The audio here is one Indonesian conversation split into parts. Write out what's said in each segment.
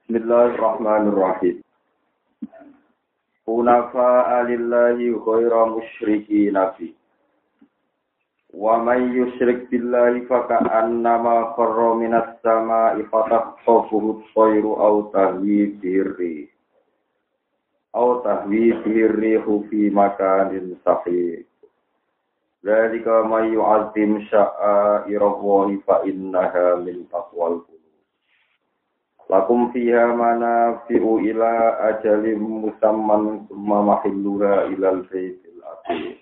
Bismillahirrahmanirrahim. Hunafa'a lillahi ghaira musyrikina fi. Wa may yusyrik billahi faka'annama kharra minas sama'i fatakhtafuhu at-tayru aw tahwi bihi rihu fi makanin sahih. Dzalika may yu'azzim sya'airallahi fa innaha min taqwal qulub. Lakum fiha manafi'u ila ajalim musamman summa mahilluha ilal baitil atiq.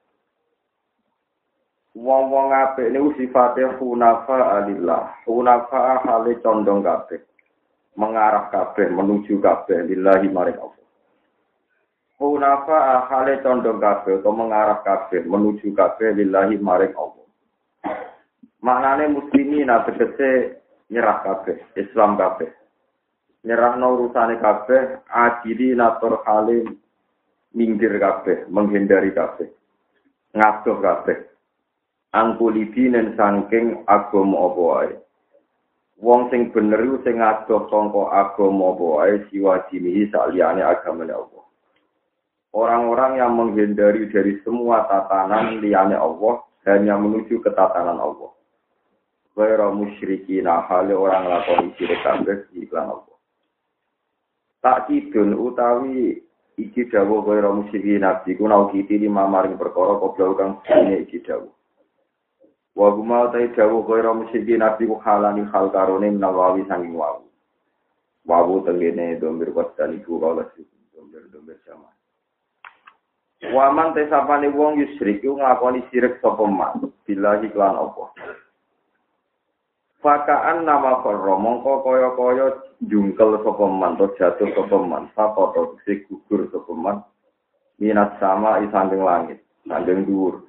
Wong-wong apik niku sifate hunafa alillah. Hunafa hale condong kabeh. Mengarah kabeh menuju kabeh lillahi maring Allah. Hunafa hale condong kabeh atau mengarah kabeh menuju kabeh lillahi maring Allah. Maknane muslimin tegese nyerah kabeh, Islam kabeh. Nyerahno urusane kabeh, adili natur halim minggir kabeh, menghindari kabeh. Ngadoh kabeh. Angkulidinen saking agama apa wae. Wong sing bener iku sing ngadoh sangka agama apa wae siwajine saliyane agamane Allah. Orang-orang yang menghindari dari semua tatanan liyane Allah hanya menuju ke tatanan Allah. Ghaira musyrikin hale orang lakoni syirik kabeh iklan Allah. Tak kidun utawi iki dawuh ghaira musyrikin nabi ku nau kiti lima maring perkara koblau kang sine iki dawuh. Wa guma ta dawuh ghaira musyrikin nabi ku halani hal karone nawawi sanging wawu. Wawu tengene domir wasani ku kala domir sama. Waman tesapane wong yusyrik ku nglakoni syirik sapa man billahi lan apa. Fakaan nama korro mongko kaya jungkel sapa man to jatuh sapa man sakoto sing gugur sapa man minat sama isanding langit sanding dhuwur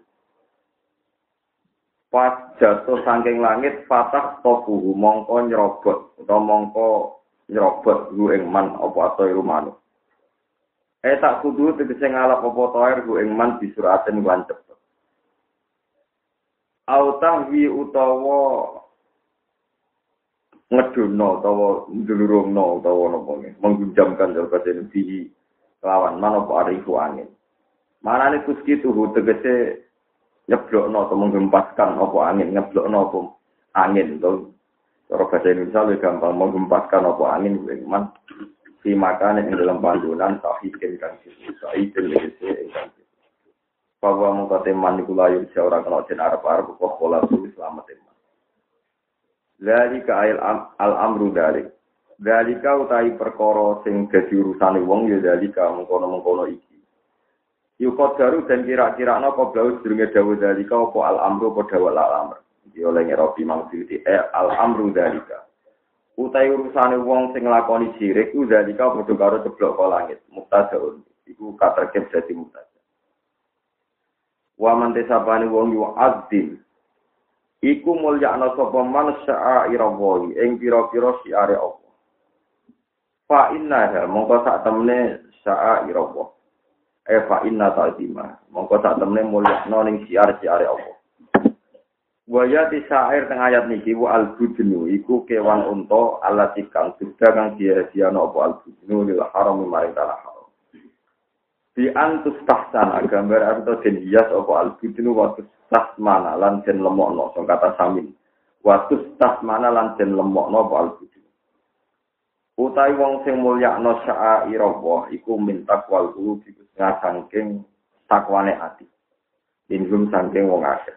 pas jatuh saking langit fatah tofuhu mongko nyerobot utawa mongko nyerobot ku ing man apa atoy rumanu tak kudu tegese ngalap apa toer ku ing man disuraten lan cepet autahwi utawa ngedono utawa ndulurungno utawa napa nggih menggunjamkan bahasa Indonesia lawan manapa arifu angin. Manane kuski tuhu tegese nyeblokno atau menggempaskan apa angin, nyeblokno apa angin to. Cara bahasa Indonesia lebih gampang menggempaskan apa angin man si makane ing dalam panggonan tahikin kan sisai tegese ingkang. Bahwa mengkote manipula yo ora kena den arep-arep kok pola selamat. Dzalika al-amru dzalik. Dzalika utahi perkara sing dadi urusane wong ya dzalika mengkono-mengkono iki. Yukot garu dan kira-kira napa blaus durunge dawuh dzalika apa al-amru apa dawuh al-amr. Iki oleh ngeropi maksudi al-amru dzalika. Utahi urusane wong sing nglakoni syirik ku dzalika padha karo ceblok ka langit. Muktadaun iku katerkep dadi muktada. Wa man tesapane wong yu azim iku mulyakna sapa man sya'airallahi ing pira-pira syiare Allah. Fa innaha mongko sak temene sya'airallah. Fa inna ta'zima mongko sak temene mulyakna ning syiar-syiare Allah. Wa ya ti syair teng ayat niki wa al-budnu iku kewan unta alati kang sudah kang diasiana apa al-budnu lil haram maring tanah haram. Di antus tahsana gambar atau den hias apa al-budnu wa tasmana lan den lemokno sing kata samin. Wa tasmana lan den lemokno apa al-budnu. Utawi wong sing mulyakno sya'airallah iku min taqwal qulub iku saking takwane ati. Ingum saking wong akeh.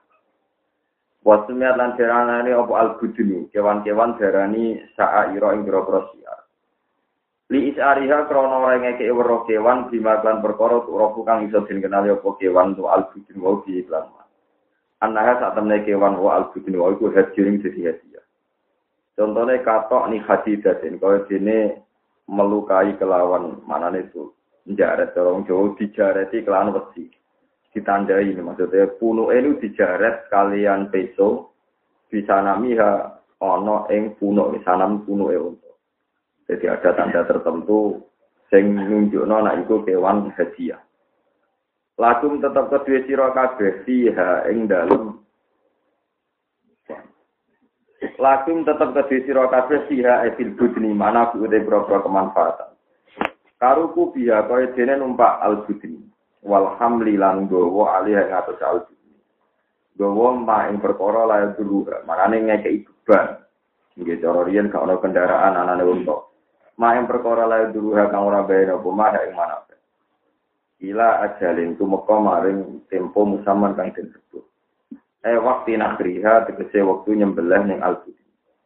Wasmiat lan diarani apa al-budnu, kewan-kewan diarani sya'aira ing boro-boro siar. Li isariha krana ora ngekeki weruh kewan bimaklan perkara ora kang iso den kenali apa kewan tu al-budnu wa bi iklan. Anaha sak temne kewan wa al-budnu wa iku hadiring dadi hadiah. Contone katok ni hadidatin kaya dene melukai kelawan manane itu njaret orang Jawa dijareti kelawan wesi. Ditandai ini maksudnya punuke itu dijaret kalian peso bisa namiha ana ing punuk sanam punuke unta. Jadi ada tanda tertentu sing nunjukno nek iku kewan hadiah. Lakum tetap kedue sira kabeh fiha ing dalem Lakum tetap kedhe sira kabeh siha fil budni mana ude boro kemanfaatan. Karuku biya kaya dene numpak al-budni wal hamli lan gowo alih ing atus al-budni. Gowo ma ing perkara lae dulu, manane ngekeki beban. Nggih cara riyen gak ana kendaraan anane unta. Ma ing perkara lae dulu kang ora bayar apa mah ing mana. Ila ajalin tumeka maring tempo musaman kang disebut. Waktu nakriha tegese waktu nyembelih ning al-budni.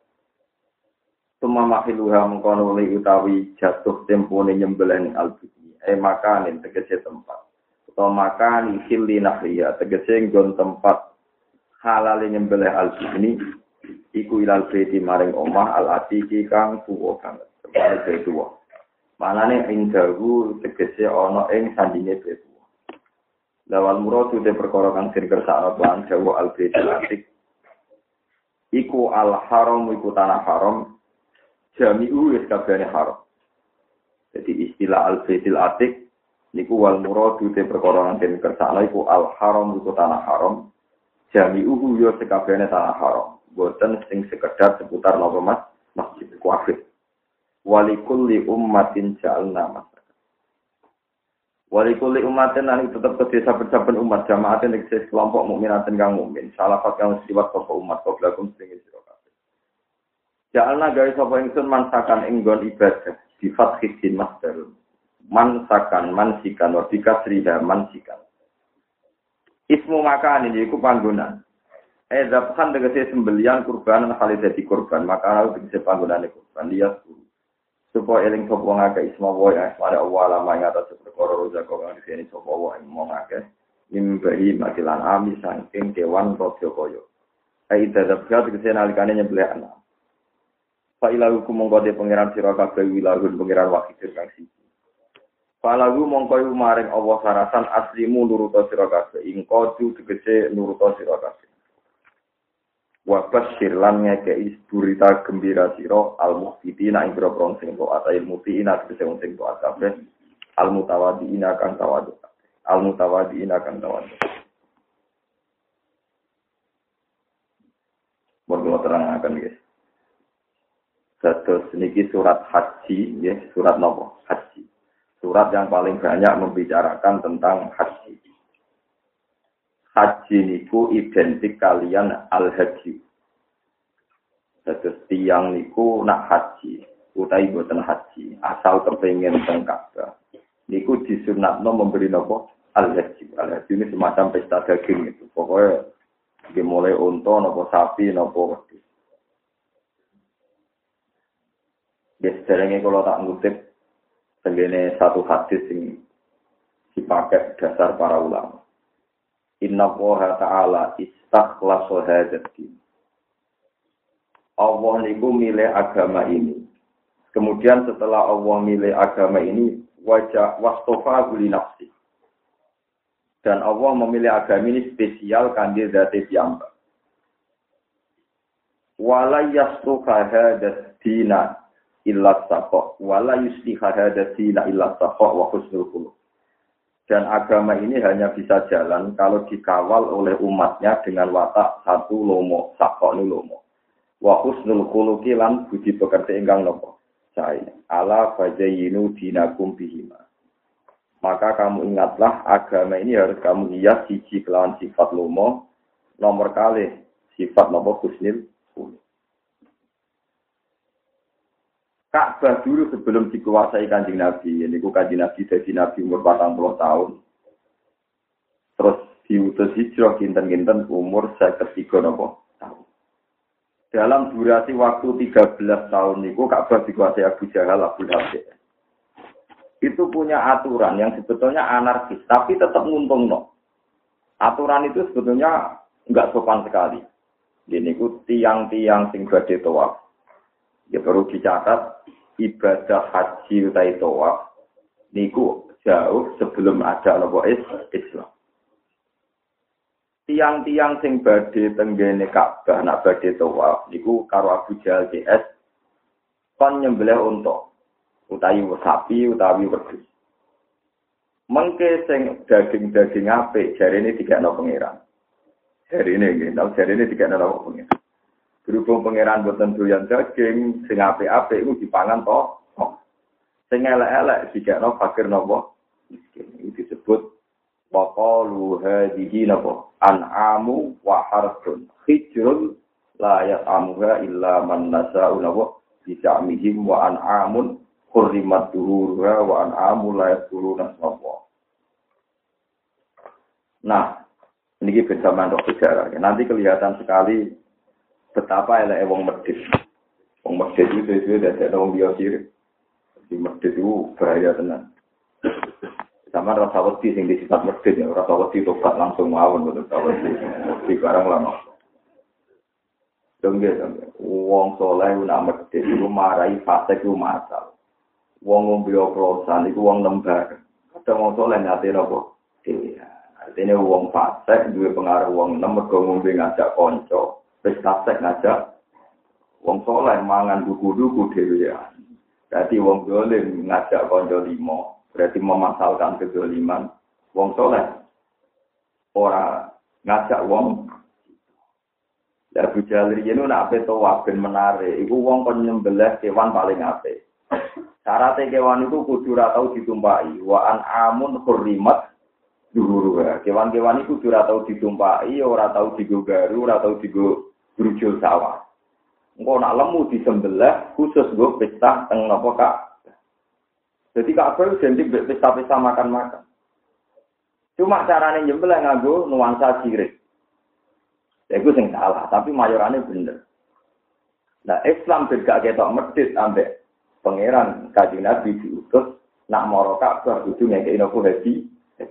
Tuma mahiluha mengkono li utawi jatuh tempone nyembelih ning al-budni. Makanin tegese tempat. Utawa makan ihili nakriha tegese nggon tempat halal nyembelih al-budni iku ilal baiti maring omah al-atiqi kang tuwa banget. Tempat tuwa. Manane ing dawu tegese ana ing sandinge betu. Lawal muradu te perkara kang sing kersakno lan dawu al-baitul atiq. Iku al-haram iku tanah haram. Jami'u wis kabehane haram. Jadi istilah al-baitul atiq niku wal muradu te perkara kang sing kersakno iku al-haram iku tanah haram. Jami'u yo sekabehane tanah haram. Boten sing sekedar seputar napa masjid kuafir. Walikulli ummatin ja'alna masakan. Walikulli ummatin lan tetep kedhe saben-saben umat jamaatin eksis kelompok mukminatin kang mukmin. Salafat kang siwat sapa umat koblakum sing sira kabeh. Ja'alna gawe sapa ingsun mansakan ing nggon ibadah di fathid masdar. Mansakan mansikan wa bikasriha mansikan. Ismu makan ini iku panggonan. Zabhan tegese sembelian kurban kali dadi kurban, maka tegese panggonane kurban lias supaya eling sapa ngake isma wa asmane Allah lama ing atas perkara rozako kang dene sapa wa ing ngake nimbahi matilan ami saking kewan rodya kaya ai dadap gat kese nalikane nyembelih ana fa ilahu mongko de pangeran sira kabeh wilahun pangeran wakil kang siji fa lagu mongko maring Allah sarasan aslimu nuruta sira kabeh ing kudu tegese nuruta sira kabeh Wabasyir lan ngekei berita gembira sira al-muhtiina ing boro sing taat al-muhtiina tegese wong sing taat kabeh al-mutawadiina kang tawadu al-mutawadiina kang tawadu Monggo terangaken guys. Dados niki surat haji nggih surat napa haji. Surat yang paling banyak membicarakan tentang haji. Haji niku identik kalian al-haji. Terus tiang niku nak haji, utai boten haji, asal kepengen teng Ka'bah. Niku disunatno memberi nopo al-haji. Al-haji ini semacam pesta daging itu. Pokoknya dimulai unta nopo sapi nopo wedhus. Biasanya kalau tak ngutip tengene satu hadis yang dipakai dasar para ulama. Inna Allaha ta'ala istakhlasa hadzal-din. Allah niku milih agama ini. Kemudian setelah Allah milih agama ini, wajah wastofa li nafsi. Dan Allah memilih agama ini spesial kangge zate piyambak. Wala yasluha hadzal-dina illa taqwa, wala yusliha hadzal-dina illa taqwa wa husnul khuluq. Dan agama ini hanya bisa jalan kalau dikawal oleh umatnya dengan watak satu lomo, sakoni lomo. Wa husnul khuluqi lan budi pekerti ingkang nopo. Sae ala fajayinu dinakum bihima. Maka kamu ingatlah agama ini harus kamu hias siji kelawan sifat lomo, nomor kali sifat nopo husnul khuluq. Ka'bah dulu sebelum dikuasai Kanjeng Nabi, ini Kanjeng Nabi jadi Nabi umur 40 tahun. Terus diutus hijrah kinten-kinten umur 53 tahun. Dalam durasi waktu 13 tahun niku Ka'bah dikuasai Abu Jahal, Abu Lahab. Itu punya aturan yang sebetulnya anarkis, tapi tetap nguntungno. Aturan itu sebetulnya enggak sopan sekali. Ini ku tiang-tiang sing badhe tawaf. Ya perlu dicatat ibadah haji utawi tawaf niku jauh sebelum ada nopo Islam. Tiang-tiang sing badhe tenggene Ka'bah nak badhe tawaf niku karo Abu Jahal CS kon nyembelih unta utawi sapi utawi wedhus. Mengke sing daging-daging apik jarene dikekno pangeran. Jarene nggih, jarene dikekno pangeran. Berhubung pangeran boten doyan daging, sing apik-apik iku dipangan to. Sing elek-elek dikekno fakir napa? Miskin. Itu disebut waqalu hadhihi napa? An'amu wa harthun. Hijrun la yat'amuha illa man nasa'u napa? Bisa'mihim wa an'amun hurrimat duhuruha wa an'amu la yadhuruna napa. Nah, ini bersamaan roh sejarah. Nanti kelihatan sekali betapa elek wong medhit. Wong medhit itu sesuai dari wong dia sirik. Di medhit itu bahaya tenan. Sama rasa wedi sing disifat medhit ya, rasa wedi tobat langsung mawon betul di barang lama. Dongge wong saleh nak medhit iku marai fasik iku masal. Wong ngombe oplosan iku wong lembar. Kadang wong saleh nyate napa? Iya. Artinya wong fasik duwe pengaruh wong nem mergo ngombe ngajak kanca. Wis fasik ngajak wong saleh mangan duku-duku dhewe ya. Dadi wong dolim ngajak kanca limo, berarti memasalkan kedoliman. Wong saleh ora ngajak wong. Lah bujalri yen nak ape to waben menare, iku wong kon nyembelih kewan paling apik. Syaratnya kewan itu kudu ora tau ditumpaki, wa an amun hurrimat duhuruha. Kewan-kewan itu kudu ora tau ditumpaki, ora tau digogaru, ora tau brujul sawah. Engko nak lemu disembelih khusus nggo pesta teng napa Kak. Jadi kabeh identik pesta-pesta makan-makan. Cuma carane nyembelih nganggo nuansa sirik. Iku sing salah, tapi mayorane bener. Nah, Islam juga ketok medhit ambek pangeran Kanjeng Nabi diutus nak mara Ka'bah kudu ngekeki napa haji.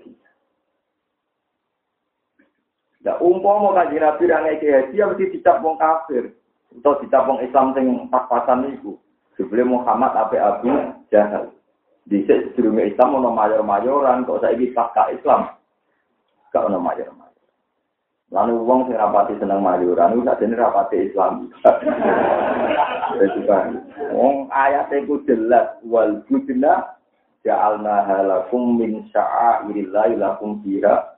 Lah umpama Kanjeng Nabi ra ngekeki haji ya mesti dicap wong kafir. Atau dicap wong Islam sing pas-pasan niku. Sebelum Muhammad ape Abu Jahal. Dhisik sedurunge Islam ono mayor-mayoran kok saiki pasca Islam. Gak ono mayor-mayor. Lalu wong sing rapati seneng mayoran iku sakjane rapati Islam. Wis kan. Wong ayate ku jelas wal budna ja'alna halakum min sya'airillahi lakum fiha.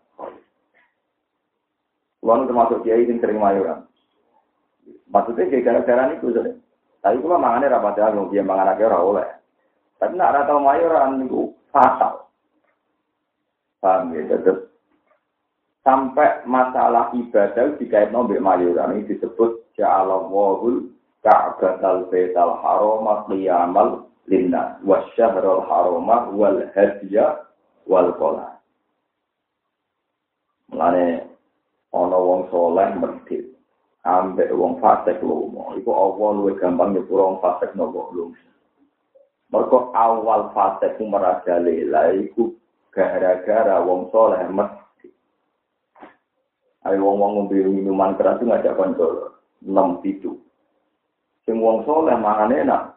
Wong termasuk kiai sing sering mayoran. Maksudnya gara-gara niku jare. Tapi kula mangane rapati aku dia manganake ora oleh. Tapi nek ora tau mayoran niku fatal. Paham ya, tetep sampai masalah ibadah dikaitno mbek mayoran ini disebut ja'alallahul ka'batal baital harama qiyamal linnas wasyahrul harama wal hadiya wal qala. Mulane ana wong saleh medhit ambek wong fasik lomo iku apa luwih gampang nyepuro wong fasik nopo lomo. Mergo awal fasik merajalela iku gara-gara wong saleh medhit. Ayo wong-wong ngombe minuman keras itu ngajak kanca 6-7. Sing wong saleh mangane enak.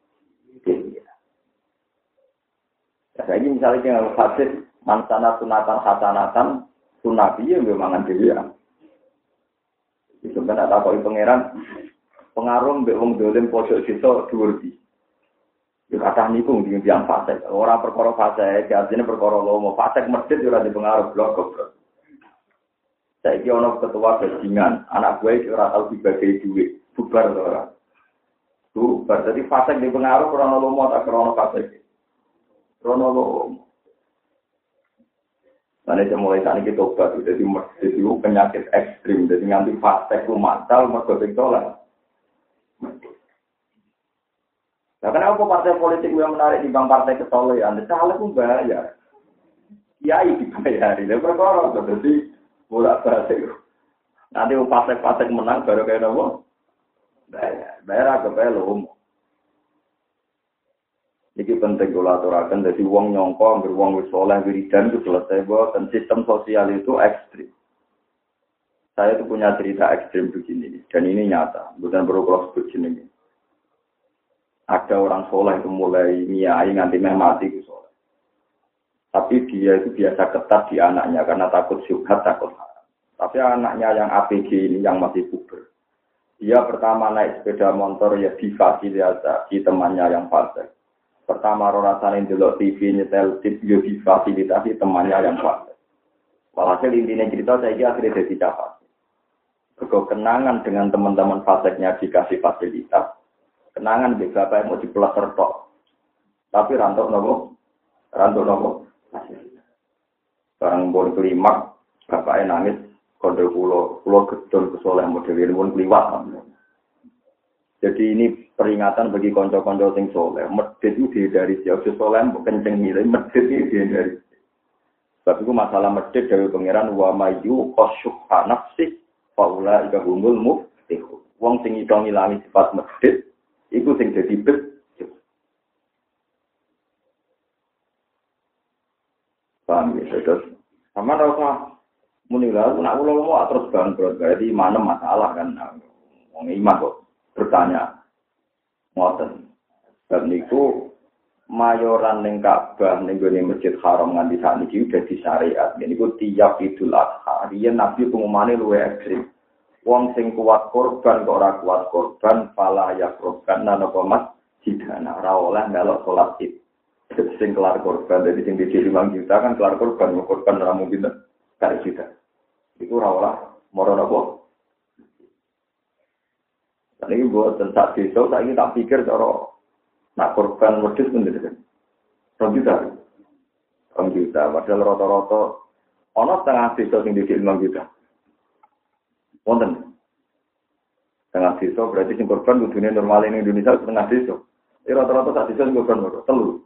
Ya saiki misale yang hadis mansana sunatan hasanatan sunabi ya mangan dhewe ya. Itu kan tak takoki pangeran pengaruh mbek wong dolim pojok desa dhuwur di. Ya kata niku nding tiyang fasik. Ora perkara fasik, artine perkara lomo. Fasik medhit ora dipengaruh blok goblok. Saiki ana ketua bajingan, anak gue ora tau dibagi duit, bubar ora. Bubar dadi fasik dipengaruh krana lomo ta krana fasik. Krana lomo. Mane mulai tani kita obat dadi itu penyakit ekstrim, dadi nganti fasik ku matal mergo sing saleh. Lah kenapa partai politik yang menarik di bang partai kesolehan? Saleh ku bayar. Kiai dibayari, lha perkara dadi bolak balik. Nanti pasek-pasek menang baru kayak nopo. Bayar agak belum. Ini penting kalau aturakan. Jadi uang nyongko, beruang wisoleh, wiridan itu selesai. Dan sistem sosial itu ekstrim. Saya itu punya cerita ekstrim begini. Dan ini nyata. Bukan perlu kalau sebut begini. Ada orang soleh itu mulai niai nganti mati itu soleh. Tapi dia itu biasa ketat di anaknya karena takut syubhat, takut haram. Tapi anaknya yang APG ini yang masih puber. Dia pertama naik sepeda motor ya difasilitasi temannya yang fasik. Pertama rasanya delok TV nyetel tip ya difasilitasi temannya yang fasik. Walhasil intinya cerita saya akhirnya jadi capek. Kenangan dengan teman-teman faseknya dikasih fasilitas. Kenangan di bapak mau diplaster tok. Tapi rantok nopo. Barang pun kelima, bapaknya nangis. Kode pulau gedon kesoleh model ini pun keliwat. Jadi ini peringatan bagi konco-konco sing soleh. Medit itu dari jauh soleh, bukan kenceng nilai. Medit itu dari. Sebab itu masalah medit dari pangeran wa mayu qasyuha nafsi faula ika humul muftihu. Wong sing iso ngilangi sifat medit iku sing dadi bejo. Paham ya, terus sama rasa muni lha nak ulama terus bangkrut berarti mana masalah kan. Wong iman kok bertanya ngoten. Dan niku mayoran ning Ka'bah ning gone Masjid Haram nganti sakniki udah di syariat. Niku tiap Idul Adha, riyen Nabi pengumane luwih ekstrem. Wong sing kuat korban kok ora kuat korban, fala ya korban napa masjidana ora oleh melok salat Id. Sing kelar korban dadi sing dicili 5 juta kan kelar korban ora mungkin kali juta. Iku ora oleh moro napa. Ini buat tentang desa, saya tak pikir cara nak korban wedhus mendesak. 2 juta. 2 juta. Padahal rata-rata ana setengah desa sing didik 5 juta. Wonten. Setengah desa berarti sing korban kudune normal ning Indonesia setengah desa. Rata-rata sak desa sing korban loro,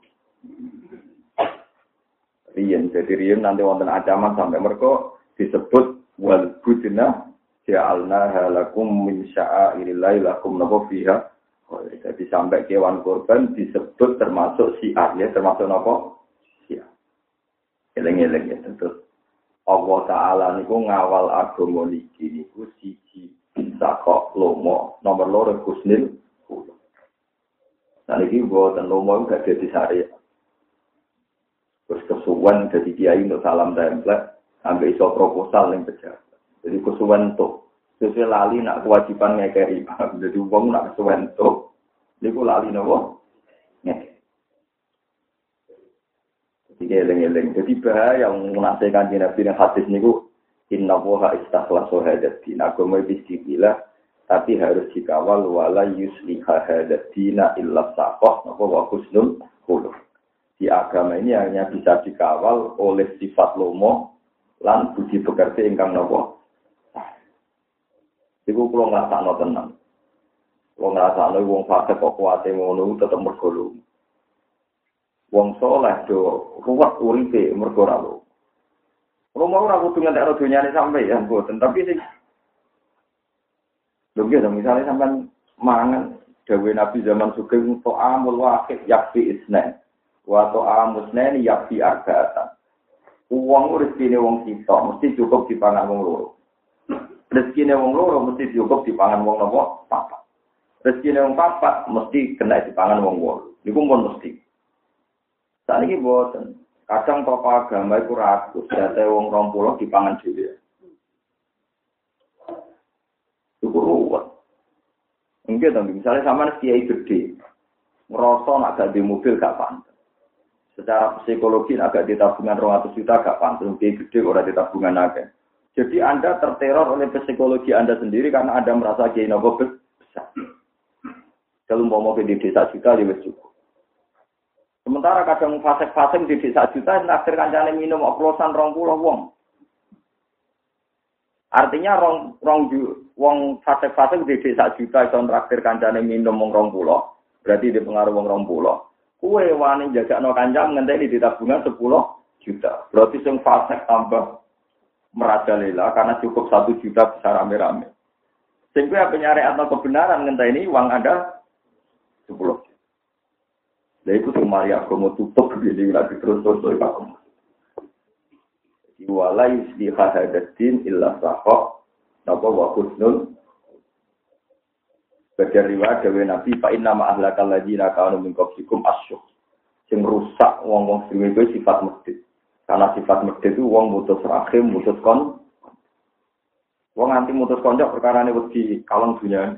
3. Jadi riyen nanti wonten ancaman sampai mereka disebut wal budna ja'alna halakum min sya'airillahi lakum napa fiha. Jadi sampai kewan korban disebut termasuk syiar ya, termasuk apa? Syiar. Eleng-eleng ya terus. Allah Ta'ala niku ngawal agama niki niku siji bisa kok lomo, nomor loro kusnil. Nah niki mboten lomo gak dadi syariat. Terus kesuwen dadi kiai untuk salam template, sampai iso proposal ning pejabat. Jadi kesuwen tuh. Sesuai lali nak kewajiban ngekeri. Jadi uang nak kesuwen tuh. Niku lali nopo? Ngekeri. Jadi eleng-eleng. Jadi bahaya yang menasihatkan di Nabi yang hadis niku. Inna woha istakhlasu hadatina. Agama bismillah. Tapi harus dikawal. Wala yusliha hadatina illa sakoh. Nopo wa husnul khuluq. Di agama ini hanya bisa dikawal oleh sifat lomo. Lan budi pekerti ingkang nopo. Iku kula ngrasakno tenan. Wong ngrasakno wong fasik kok kuwate ngono tetep mergo lu. Wong saleh do ruwet uripe mergo ora lu. Romo ora kudu ngentekno donyane sampe ya mboten, tapi sing lho misalnya sampean mangan dawuh Nabi zaman sugeng to amul wahid yakfi isna. Wa to amusnani yakfi arba'atan. Wong rezekine wong sitok mesti cukup dipangan wong loro. Rezekine wong loro mesti cukup dipangan wong napa? Papat. Rezekine wong papat mesti kena dipangan wong wolu. Niku pun mesti. Saniki mboten. Kadang tokoh agama iku ragu, date wong 20 dipangan dhewe. Iku ruwet. Enggak dong, misalnya sampean kiai gede, ngerasa nak gak di mobil gak pantes. Secara psikologi agak di tabungan 200 juta gak pantes, kiai gede ora di tabungan akeh. Jadi Anda terteror oleh psikologi Anda sendiri karena Anda merasa kiai nopo besar. Kalau mau di desa juta ya wis cukup. Sementara kadang fasek-fasek di desa juta naksir kancane minum oplosan 20 wong. Artinya wong fasek-fasek di desa juta iso naksir kancane minum wong 20, berarti di pengaruh wong 20. Kuwe wani jagakno kancam ngenteni di tabungan 10 juta. Berarti sing fasek tambah merajalela karena cukup 1 juta bisa rame-rame. Sehingga penyariat atau kebenaran ngenteni uang Anda 10 juta. Jadi itu semari agama tutup begini lagi terus-terus agama. Wala yusliha hadatin illa sahok napa wa husnul. Bagian riwayat dewe Nabi fa inna ma ahlakal ladina kanu min qablikum asyuh. Sing rusak wong-wong sing kuwi sifat medhit. Karena sifat medhit itu wong mutus rahim, mutus kon. Wong nganti mutus konco perkarane wedi kalong dunya.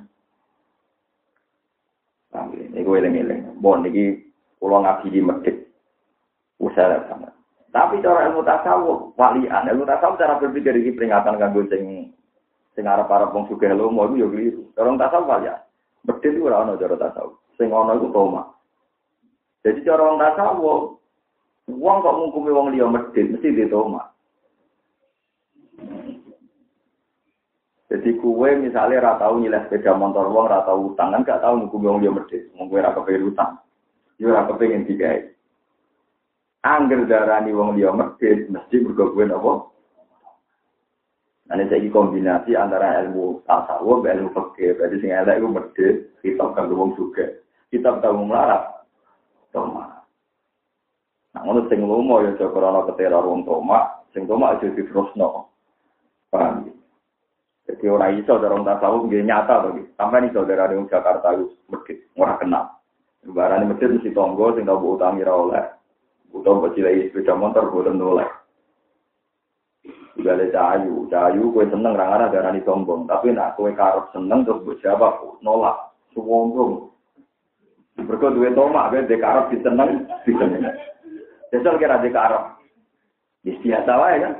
Nah, iki eling-eling. Bon iki kula ngaji di medhit. Usaha sama. Tapi cara ilmu tasawuf, walian ilmu tasawuf cara berpikir iki peringatan kanggo sing Sing arep-arep wong sugih lomo iku ya kliru. Cara tasawuf ya. Medhit iku ora ana cara tasawuf. Sing ana iku toma. Jadi cara wong tasawuf, wong kok ngukumi wong liya medhit mesti ditoma. Jadi kue misalnya ora tau nyileh sepeda motor wong, ora tau utang kan gak tau ngukumi wong liya medhit. Wong kowe ora kepengin utang. Yo ora kepengin digawe. Angger darani wong liya medhit mesti mergo kowe napa? Nah, ini kombinasi antara ilmu tasawuf dan ilmu fikih. Berarti sing elek iku medhit, kitab kanggo wong sugih. Kitab kanggo melarat. Toma. Nah, ngono sing lomo ya aja krana keteror wong toma, sing toma aja diterusno. Paham? Jadi ora iso dorong tasawuf nggih nyata to iki. Sampeyan iso darane wong Jakarta iku medhit, ora kenal. Barane medhit mesti tonggo sing tau utangi ra oleh. Utawa cilai sepeda motor boten oleh. Gale cahayu kowe seneng ra ngara darani sombong, tapi nek kowe karep seneng terus mbok jawab nolak, sombong. Mergo duwe tomak kowe dek karep diseneng. Jajal kira dek karep. Wis biasa wae kan.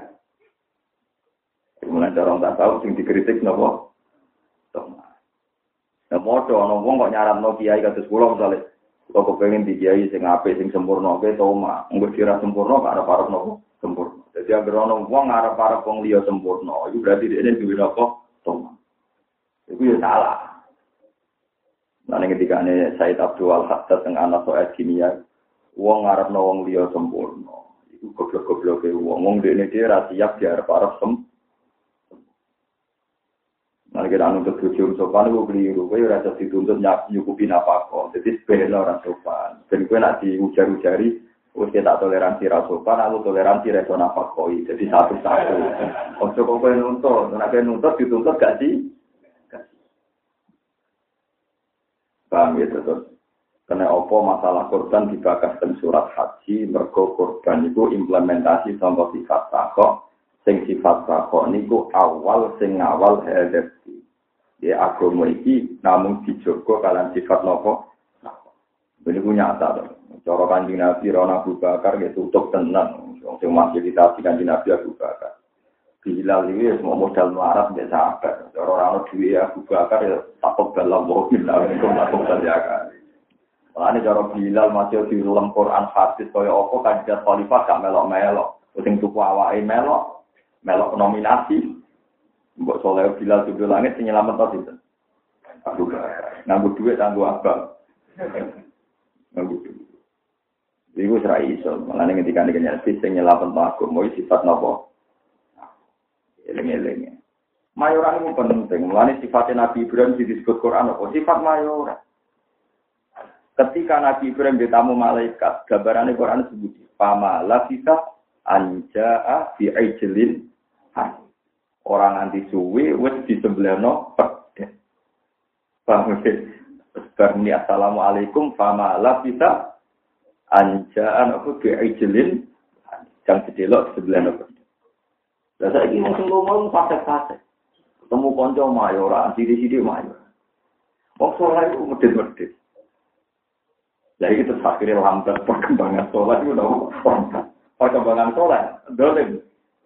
Mulai dorong tak tahu sing dikritik napa? Tomak. Nah modho ana wong kok nyaranno kiai kados kula misale kok kepengin di kiai sing apik sing sempurna kowe tomak. Engko dira sempurna kok arep-arep napa? Sempurna. Jadi agar orang wong arep-arep wong liya sempurna, itu berarti dia duwe apa? Toma. Itu ya salah. Nah ketika ini Said Abdul Al-Haddad yang anak soal kimia, wong arepno wong liya sempurna. Itu goblok-gobloke wong dene dhewe ra siap diarep-arep Nah kita nuntut bojo sopan iku kliru, kowe ora iso dituntut nyukupi nafkah. Jadi sepele ora sopan. Ben kowe nek diujar-ujari wis tak toleransi ra sopan, aku toleransi ra iso nafkoi. Jadi satu-satu. Ojo kok kowe nuntut, nek kowe nuntut dituntut gak sih? Paham ya terus. Karena apa masalah korban dibahas dalam surat haji, mergo korban itu implementasi contoh sifat takok. Sing sifat takok niku awal sing ngawal hadati. Ya agama iki namung dijogo kalian sifat nopo. Ini punya nyata to. Cara Kanjeng Nabi Rona Abu Bakar ya tutup tenan. Sing masih ditasi Kanjeng Nabi Abu Bakar. Bilal iki semua modal melarat mbek sahabat. Cara ora duwe Abu Bakar ya takut dalam mobil lah niku takut jaga. Mulane cara Bilal masih di dalam Quran hadis kaya apa kanjeng khalifah gak melok-melok. Sing tuku awake melok nominasi. Mbok soleh Bilal tujuh langit sing nyelamet to sinten? Abu Bakar. Nganggo dhuwit kanggo abang. Iku ora iso, malane ketika nek nyelati sing nyelapen agama sifat napa? Eling-eling. Mayoran itu penting, malane sifat Nabi Ibrahim disebut Quran apa? Sifat mayoran. Ketika Nabi Ibrahim ditamu malaikat, gambarane Quran sebut pama lafika anjaa fi ijlin. Orang anti suwi wis disembelihno pedhe. Paham ya? Berni assalamualaikum fama lafika anjaan aku bi'ijlin yang sedelok sebelah nopo. Lah saiki wong sing lomo fasik-fasik. Ketemu kanca mayoran, sithik-sithik mayor. Wong saleh iku medhit-medhit. Lah iki terus akhire lambat perkembangan saleh iku lho. Perkembangan saleh dolen.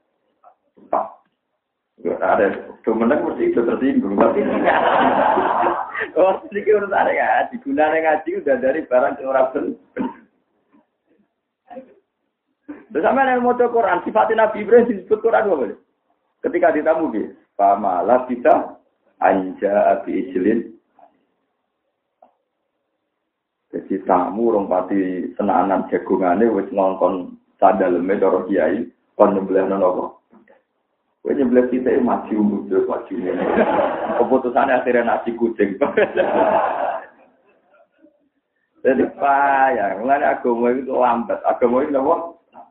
Ada kemenang mesti itu tersinggung. Oh, sedikit urus ada ya. Digunakan ngaji udah dari barang orang benar. Bersama dengan motor Quran, sifatnya Nabi Ibrahim disebut Quran apa boleh? Ketika ditamu dia, pamalah kita anja abi ijlin. Jadi tamu orang pati senanan jagungannya wis ngongkon sadaleme cara kiai kon nyembelih nopo. Kowe nyembelih kita maju mundur maju. Keputusannya akhirnya nasi kucing. Jadi payah, mulane agama itu lambat. Agama itu apa?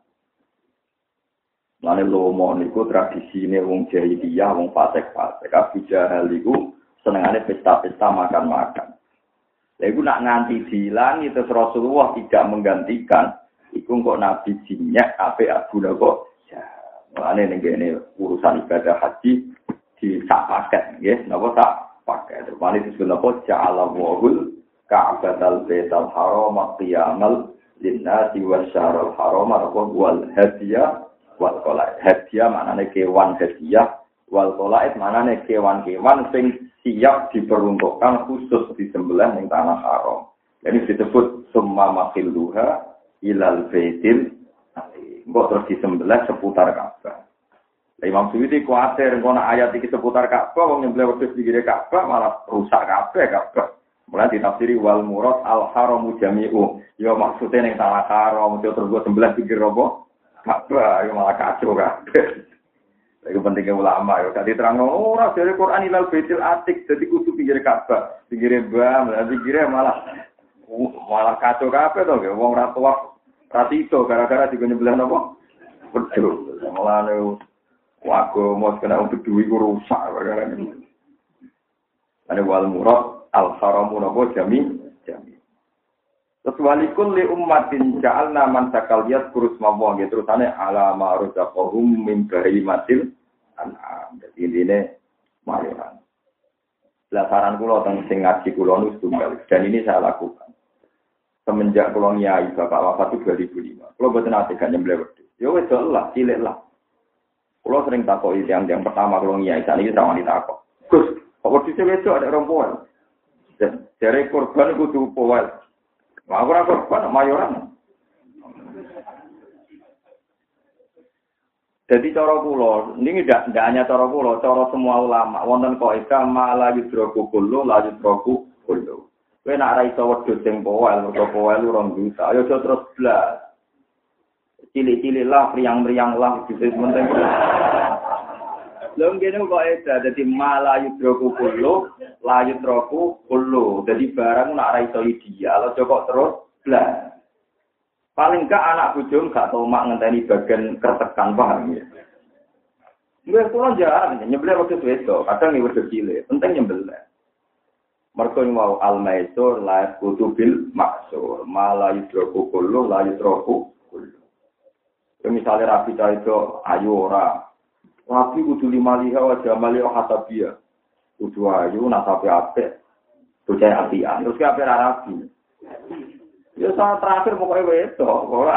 Mulane lomo niku tradisine wong jahiliyah, wong fasik-fasik. Abu Jahal iku senengane pesta-pesta makan-makan. Lha iku nak nganti diilangi terus Rasulullah tidak menggantikan, iku kok Nabi jinyak ape Abu Lahab. Mulane ning kene urusan ibadah haji di sak paket nggih, napa sak paket. Terus disebut apa ja'ala wahul ka'batal baital haram qiyamal linnasi wasyarul haram wal hadiyah wal qalai. Hadiah maknane kewan hadiah Wal qalaid manane kewan-kewan sing siap diperuntukkan khusus disembelih ning tanah haram. Jadi disebut summa makhilluha ilal baitil atiq. Mbok terus disembelih seputar Ka'bah. Imam Suyuti kuatir ngono ayat iki seputar Ka'bah wong nyembelih wedhus pinggire Ka'bah malah rusak kabeh Ka'bah. Mulai ditafsiri wal murad al haramu jami'u. Ya maksudnya ning tanah haram terus gue sembelih pinggir apa? Ka'bah ya malah kacau kabeh. Iku pentingnya ulama ya. Dadi terang ora dari Quran ilal baitil atiq dadi kudu pinggir Ka'bah, pinggir Bam, pinggire malah kacau kabeh to ya wong ra tuwa ra tito gara-gara dinyembelih napa? Wedhus. Mulane wago mos kena untuk duwi ku rusak gara-gara ini. Ane wal murad al-haramu napa jami. Terus walikul li ummatin ja'alna man sakal yat kurus mawang gitu terusane ala ma razaqahum min bahimatil an'am. Dadi intine mayoran. Saran kula teng sing ngaji kula nu tunggal dan ini saya lakukan. Semenjak kula nyai bapak wafat itu 2005. Kula boten ate gak nyembelih wedhus. Ya wis lah, cilik lah. Kula sering takoki yang pertama kula nyai sakniki rawani takok. Gus, kok wedhus wedok ada rompon? Jare korban kudu powel. Wah, ora korban mayoran. Jadi cara kula, ini tidak hanya cara kula, cara semua ulama. Wonten kaidah mala yudroku kullu, la yudroku kullu. Kowe nek ora iso wedhus sing powel, mergo powel urung bisa. Ayo terus blas. Cilik-cilik lah, priang-priang lah, gitu penting. Lha ngene kok ada dadi mala yudroku kullu, la yudroku kullu. Jadi barang nek ora iso ideal, aja kok terus blas. Paling gak anak bojo gak tau mak ngenteni bagian kertekan paham ya. Nggih kula jarang nyembelih wedhus wedok, kadang iki wedhus cilik, penting nyembelih. Mergo mau al-maisur la kutubil maksur, mala yudroku kullu la yudroku kullu. Misalnya rapi cah itu ayu ora. Rapi kudu limaliha wa jamaliha hasabiyah. Kudu ayu nasabe apik. Bocah apian, terus ki apik rapi. Ya saat terakhir pokoknya wedok, ora.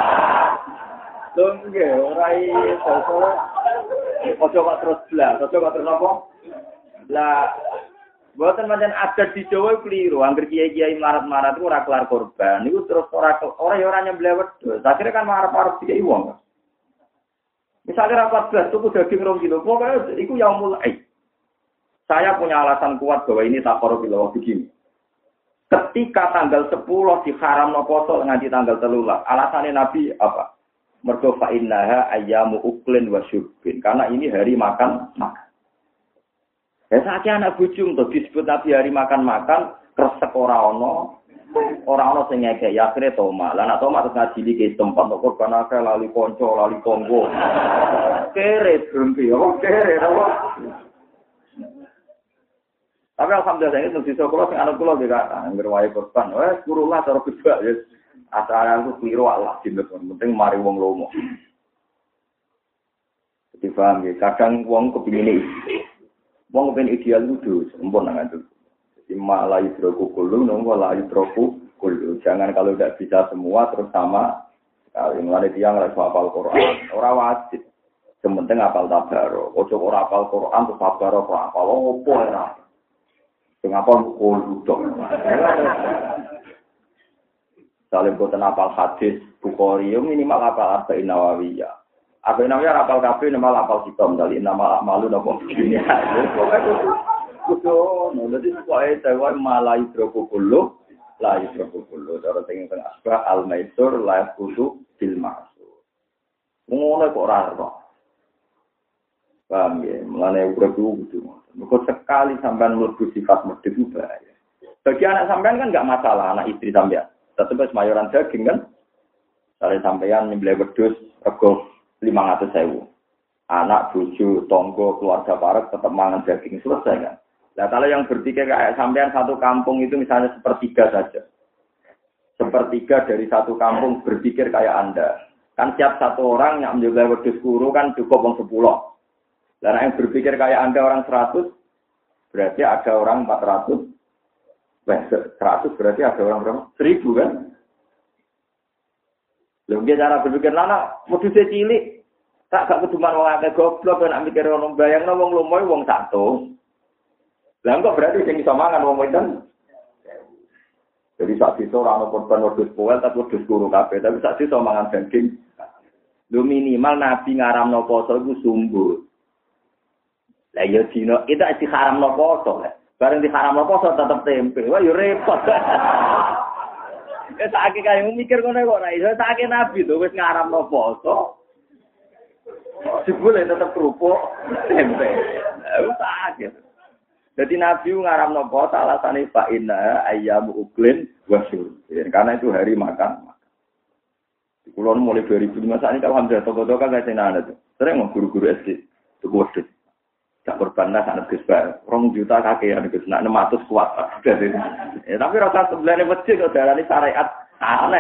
Lho nggih, ora iso. Ojo kok terus blas, ojo kok terus apa? Lah mboten pancen adat di Jawa keliru, anggere kiai-kiai marat-marat iku ora kelar korban. Niku terus ora ya ora nyembelih wedhus. Akhire kan marah-marah dikai wong. Misalnya rapat belas tuku daging 2 kilo, pokoknya iku yaumul aid. Saya punya alasan kuat bahwa ini takarub ila begini. Ketika tanggal 10 diharamno poso nganti tanggal 13. Alasannya Nabi apa? Mergo fa innaha ayyamu uklin wa syurbin. Karena ini hari makan. Ya sakjane anak bojum to disebut Nabi hari makan, kresek ora ono. Ora ono sing ngekek ya akhire toma. Lah nek toma terus ngajili ke tempat kok korban akeh lali kanca, lali tonggo. Kere berhenti, kere apa? Tapi alhamdulillah ini mesti sekolah sing anak kula juga anggere wae korban. Wes kurula cara bebak ya. Asal aku keliru Allah dinten penting mari wong lomo. Jadi paham ya, kadang wong kepingin wong kepengin ideal kudu sempurna ngatur. Jadi malah yudroku kullu nunggu la yudroku kullu. Jangan kalau tidak bisa semua terus sama. Kalau mulai tiang lagi hafal Quran, ora wajib. Sementing hafal tabarok. Ojo ora hafal Quran terus tabarok ora hafal opo ora. Mengapa kullu dong? Saling boten apal hadis Bukhari minimal apal Arba'in Nawawiyah. Arba'in Nawawiyah apal kabeh minimal apal kitab dari nama malu napa dunia. Kudu dadi pokoke dewe malai droku kullu la yusroku kullu. Cara teng asbah al-maisur la kudu bil ma'sur. Ngono kok ora ora. Paham ya, mulane urip kudu. Mergo sekali sampean mlebu sifat medhit itu bahaya. Bagi anak sampean kan enggak masalah, anak istri sampean. Tetep wis mayoran daging kan. Sare sampean nyembelih wedhus rego 500.000. Anak, bojo, tangga, keluarga parek tetap mangan daging selesai kan. Nah kalau yang berpikir kayak sampean satu kampung itu misalnya sepertiga saja. Sepertiga dari satu kampung berpikir kayak Anda. Kan tiap satu orang yang menyembelih wedhus kuru kan cukup wong 10. Dan yang berpikir kayak Anda orang 100, berarti ada orang 400. 100 berarti ada orang berapa? 1000 kan? Lalu dia cara berpikir, lana, wedhus cilik. Tak gak keduman wong akeh goblok nek mikir ono bayangno wong lumoy wong 100. Lah kok berarti sing iso mangan wong itu. Jadi sak iso ora ono korban wedhus poel tapi wedhus kuru kabeh, tapi sak iso mangan daging. Lu minimal nabi ngaramno poso iku sumbu. Lah yo dino itu iki haramno poso. Bareng diharamno poso tetep tempe. Wah yo repot. Ya sakake kaya mikir ngono kok ora iso sakake nabi to wis ngaramno poso. Jebule tetep kerupuk tempe. Sakit. Jadi Nabi ngaramno poso alasane fa inna ayyamu uklin wa syurb. Karena itu hari makan. Kulo mulai 2005 saat ini alhamdulillah toko-toko kan senana tuh. Sering mau guru-guru SD tuku wedhus. Tak korban lah anak Gus Bar. 2 juta kakean Gus nak 600 kuat. Tapi rasa sebelahnya masjid kok darani syariat aneh.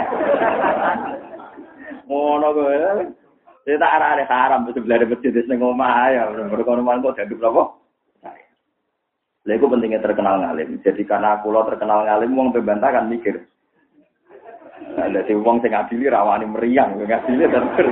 Ngono kowe. Saya tak arah haram sebelahnya masjid ning omah ya. Berkono-kono kok dadi berapa? Lha iku pentingnya terkenal ngalim. Jadi karena kula terkenal ngalim wong pembantah kan mikir. Lah dadi wong sing adili rawani meriang, ngadili terus.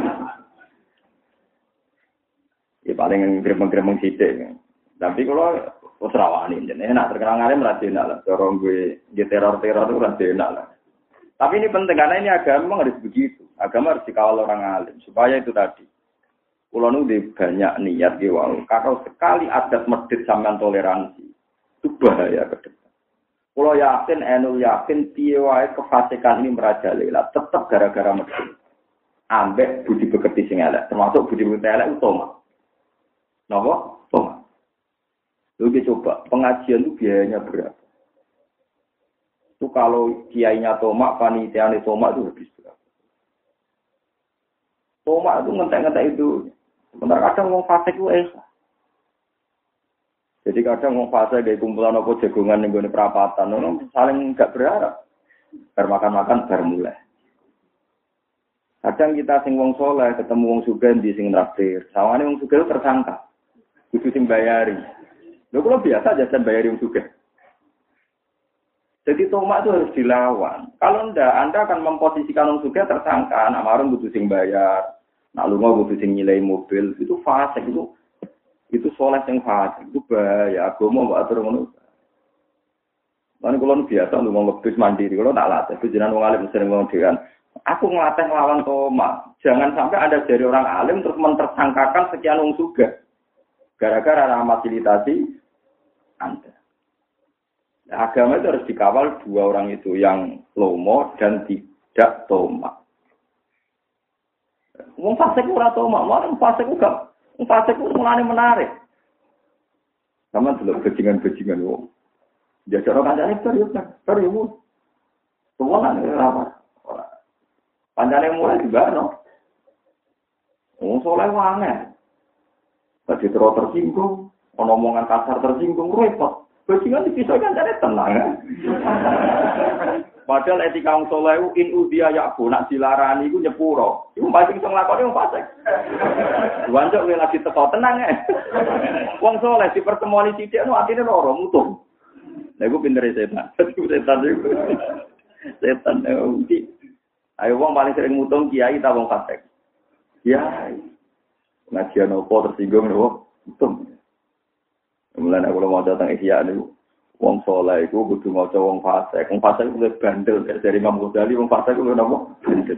Ya paling gremeng-gremeng sithik. Tapi kula wis rawani jenenge enak terkenal ngalim ra enak lah. Cara gue teror-teror itu ra enak lah. Tapi ini penting karena ini agama harus begitu. Agama harus dikawal orang alim supaya itu tadi. Kula nu banyak niat ki wae. Kalau sekali adat medhit sampean toleransi itu bahaya ke depan. Kalau yakin piye wae kefasikan ini merajalela, tetap gara-gara medhit. Ambek budi pekerti sing elek, termasuk budi pekerti elek utama. Napa? Utama. Lu coba pengajian itu biayanya berapa? Itu kalau kiainya tomak, panitiane tomak itu habis berapa? Tomak itu ngentek-ngentek itu. Sebentar kadang wong fasik itu Jadi kadang wong fase gawe kumpulan apa jagongan ning gone perapatan, ono saling enggak berharap. Bar makan-makan bar mulai. Kadang kita sing wong saleh ketemu wong sugih ndi sing traktir. Sawane wong sugih tersangka. Kudu sing bayari. Lho kok biasa jajan bayari wong sugih. Jadi tomak itu harus dilawan. Kalau ndak Anda akan memposisikan wong sugih tersangka, nak marung kudu sing bayar. Nak lunga kudu sing nyilai mobil. Itu fase itu soleh yang fasik itu bahaya. Agama mbak atur ngono. Lan kula biasa ngomong ngebis mandiri, kula tak latih. Itu jenengan wong alim sering ngomong dhewean. Aku ngelatih lawan tomak. Jangan sampai ada dari orang alim terus mentersangkakan sekian wong sugih. Gara-gara ada fasilitasi Anda. Nah, agama itu harus dikawal 2 orang itu, yang lomo dan tidak tomak. Wong fasik ora tomak, wong fasik uga. Fasik itu mulane menarik. Sama dulu bajingan-bajingan wong. Jajaro kancane serius. Semua kan ora. Pancane mulai dibano. Wong soleh wange. Tadi terus tersinggung, omongan kasar tersinggung repot. Bajingan dipisah kancane tenang. Padahal etika wong saleh in udia yakbu nak dilarani iku nyepuro. Iku paling iso nglakoni wong fasik. Wancuk kowe lagi teko tenang Wong saleh dipertemuani sithik no atine loro mutung. Lha iku pintere setan. Setan iku. Setan iki. Ayo wong paling sering mutung kiai ta wong fasik. Kiai. Ngajian opo tersinggung lho mutung. Mulane aku mau datang Ihya niku. Wong saleh iku kudu maca wong fasik. Wong fasik kuwi bandel dari Imam Ghazali, wong fasik kuwi napa? Bandel.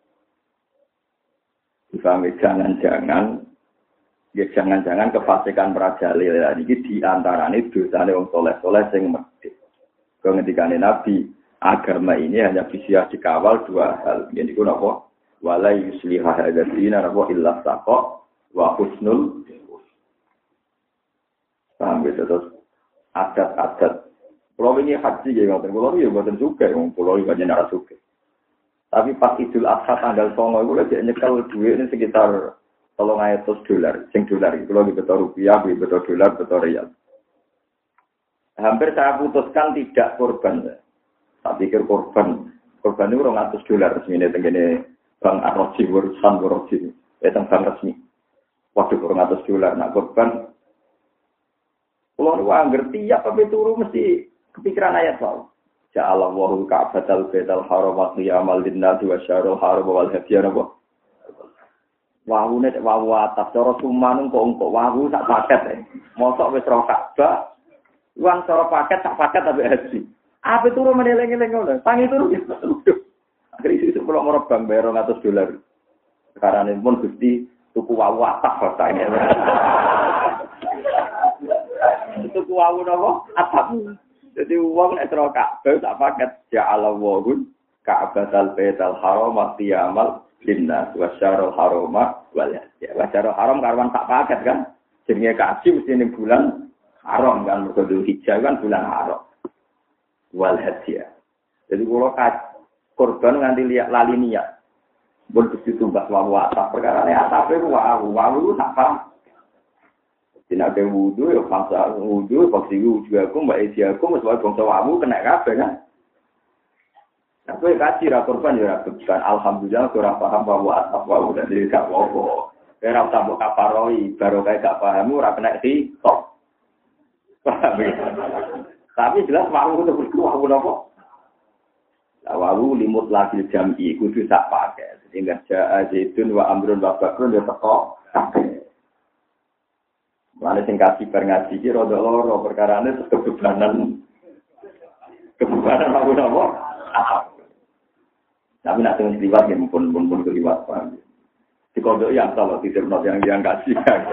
Jangan-jangan kefasikan merajalela iki di antarane dosane wong saleh-saleh sing medhit. Kok ngendikane Nabi, agama ini hanya bisa dikawal 2 hal. Yaiku napa? Wala yusliha hadzina napa illa saqa wa husnul. Sampai terus adat-adat. Pulau ini haji ya, pulau ini buatan juga, pulau ini banyak narasi juga. Tapi pas Idul Adha tanggal 9 itu lagi nyekel duit ini sekitar $300, $100. Itu lagi betul rupiah, betul dolar, betul rial. Hampir saya putuskan tidak korban. Tak pikir korban itu $200 resmi ini tenggine Bank Arroji, urusan Arroji, bank resmi. Waduh $200, nak korban. Kalau orang ngerti ya tapi turu mesti kepikiran ayat soal. Ja'alallahu ka'batal baital haram wa qiyamal linnasi wa syarul haram wal hadiyana wa. Wawune nek wawu atas cara suman kok wawu sak paket. Mosok wis ro Ka'bah. Uang cara paket sak paket tapi haji. Ape turu meneleng-eleng ngono. Tangi turu. Akhire iso pulang ora bang bayar $200. Sekarang ini pun Gusti tuku wawu atas ini. Tuku wawu napa? Atap. Jadi uang nek ro Ka'bah sak paket ya Allah wawun Ka'batal Baitul Haram qiyamal Jinnas wasyarul haroma wal hajjah. Wasyarul haram karwan tak paket kan. Jenenge kaji mesti ning bulan haram kan. Mergo Dzulhijjah kan bulan haram. Wal hajjah. Jadi kalau korban nganti lihat lali niat. Bon Gusti tumbas wawu atap perkara ne atape wawu apa? Dina ke wudu ya bangsa wudu paksi wudu aku mbak Esi aku wis wae bangsa wawu kena kabeh kan. Aku kaji ra korban ya bukan alhamdulillah ora paham bahwa apa udah dari gak apa-apa. Ora usah mbok kafaroi baru kayak gak paham ora kena di top. Tapi jelas wawu itu berdua apa? La wawu limut lagi jam'i kudu sak pakai. Sehingga ja'a zaitun wa amrun wa bakrun ya teko kabeh. Mane sing kaji bar ngaji iki rada loro perkarane terus kebebanan wawu napa? Tapi nak tengah liwat ya pun keliwat paham. Di kodok yang salah tidak yang kasih.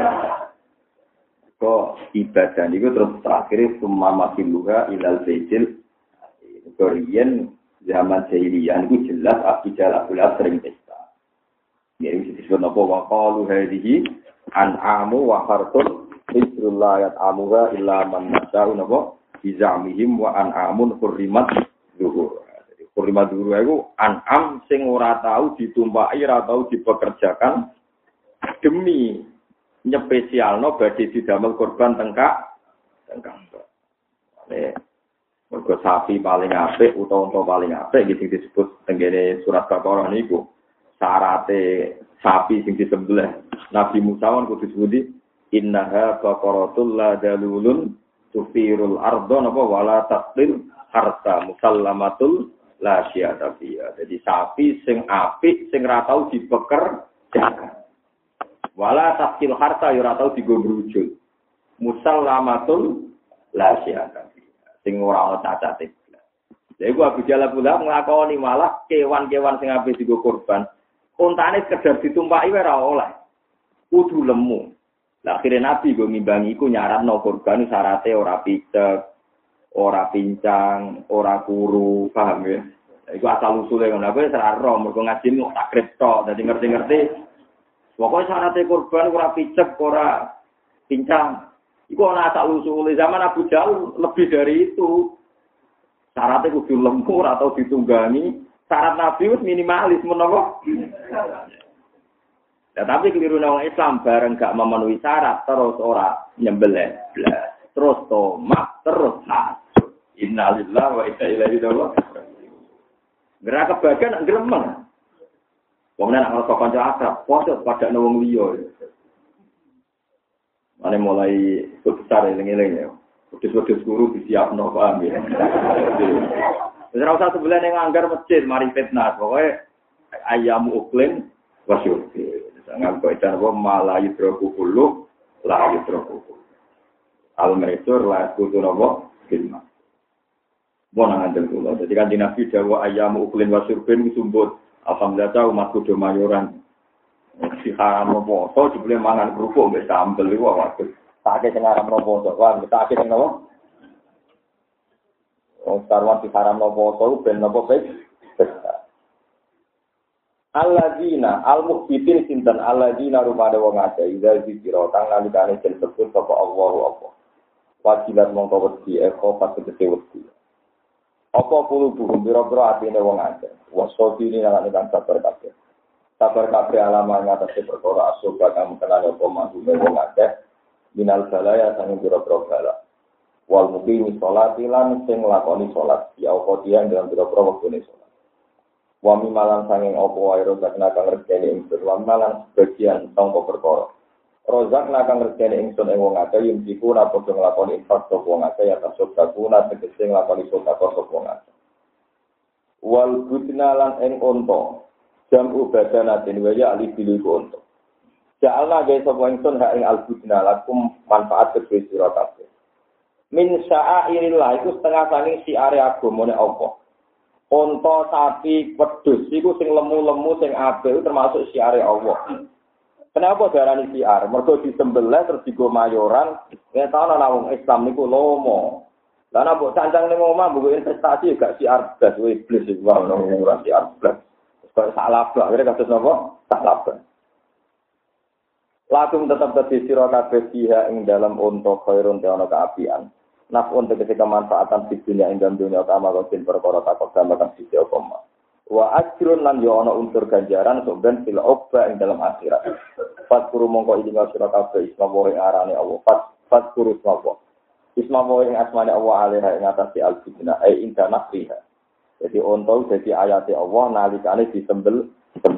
Kok ibadah itu terus terakhir semua makin luha ilal bejil. Korean zaman jahiliyah itu jelas Abijal Abdullah sering pesta. Ini disebut apa? Wa qalu hadhihi an'amu wa hartun hisrullah yat'amuha illa man nasya'u napa bizamihim wa an'amun hurrimat zuhur. Kurima dulu itu an'am sing ora tahu ditumpaki, ora tahu dipekerjakan demi nyepesialno badhe didamel korban tengkak. Mergo sapi paling apik utawa unta paling apik iki disebut tenggene surat Baqarah niku. Syarate sapi sing disembelih Nabi Musa kudu disebut innaha baqaratul la dalulun tufirul ardo napa wala taqtil harta musallamatul la syiata fiha. Jadi sapi sing apik sing ra tau dipekerjakan. Wala taqtil harta yo ora tau digobrujul. Musallamatul la syiata fiha. Sing ora ana cacate. Lha iku Abu Jalal pula nglakoni malah kewan-kewan sing apik digo korban. Untane sekedar ditumpaki ora oleh. Kudu lemu. Lah akhire Nabi go ngimbangi iku nyaratno korban syarate ora picek. Ora pincang, ora kuru, paham ya? Iku asal usule ngono. Aku wis ora ro, mergo ngaji kok tak kripto, dadi ngerti-ngerti. Pokoke syarat korban ora picek, ora pincang. Iku ana asal usule zaman Abu Jahal lebih dari itu. Syaratnya kudu lembur atau ditunggangi. Syarat Nabi wis minimalis menapa? Ya, tapi keliru nang Islam bareng gak memenuhi syarat terus ora nyembelih blas. Terus tomat, terus hasud. Innalillahi wa inna ilaihi raji'un. Gerak kebagian gremeng. Wong nek ana kanca akrab, padha pada wong liya. Mane mulai besar eling-eling ya. Wedhus-wedhus guru disiapno paham ya. Wis ora usah sebelah ning anggar masjid mari fitnah. Pokoke ayamu uklim wasyur. Jangan kok itu malah yudroku kullu la yudroku. Al-Maisur la kudu napa filma. Bona ngandel kula. Dadi kan Nabi dawuh ayamu uklin wasurbin sumbut. Alhamdulillah umat kudu mayoran. Si haram poso dibeli mangan kerupuk mbek sambel iku waduh. Take sing haram poso. Wah, take sing napa? Oh, sarwan si haram poso ben napa baik. Alladzina al-mukhbitin sinten alladzina rumade wong akeh ida dikira kang nalikane den sebut sapa Allahu apa. Wajibat mongko wedi eko pas tegese wedi. Apa kulo buku biro-biro atine wong akeh. Wasofi ini nang nek sabar kabeh. Sabar kabeh alaman ngatasi perkara asoba kang kenane apa manggune wong akeh. Minal balaya sang biro-biro bala. Wal muqimi sholati lan sing nglakoni salat ya qodian dalam biro-biro wektune salat. Wa mimalan sanging apa wae rozak kang rezeki ingsun wa malan sebagian sangka perkara. Rozak kang rezeki ingsun ing wong akeh yen iku ora padha nglakoni infak sapa wong akeh ya tasuk sakuna tegese nglakoni sedekah sapa wong akeh. Wal budna lan ing unta jam ubadanatin wa ya ali biliku unta. Ja'alna gawe sapa ingsun hak ing al-budna lakum manfaat kedue sira kabeh. Min sya'airillah iku setengah saking siare agamane Allah. Unta, sapi, wedhus iku sing lemu-lemu sing apik termasuk siare Allah. Kenapa darani siar? Mergo disembelih terus digo mayoran, nek ana wong Islam niku lomo. Lah nek mbok cancang ning omah mbok investasi gak siar blas iblis iku ono ora siar blas. Kok salah blas, kira kados napa? Salah blas. Lakum tetap dadi sira kabeh fiha ing dalam unta khairun te ana kaapian. Nafun tegese kemanfaatan di dunia ing dalam dunia utama kosin perkara takok gambakan sisi apa. Wa ajrun lan yo ana unsur ganjaran soben fil uqba ing dalam akhirat. Fatkuru mongko ilinga sira kabeh isma wa arane Allah. Fatkuru sapa. Isma wa ing asmane Allah alaiha ing atase al-fitna ai inda nafriha. Jadi unta dadi ayate Allah nalikane disembel.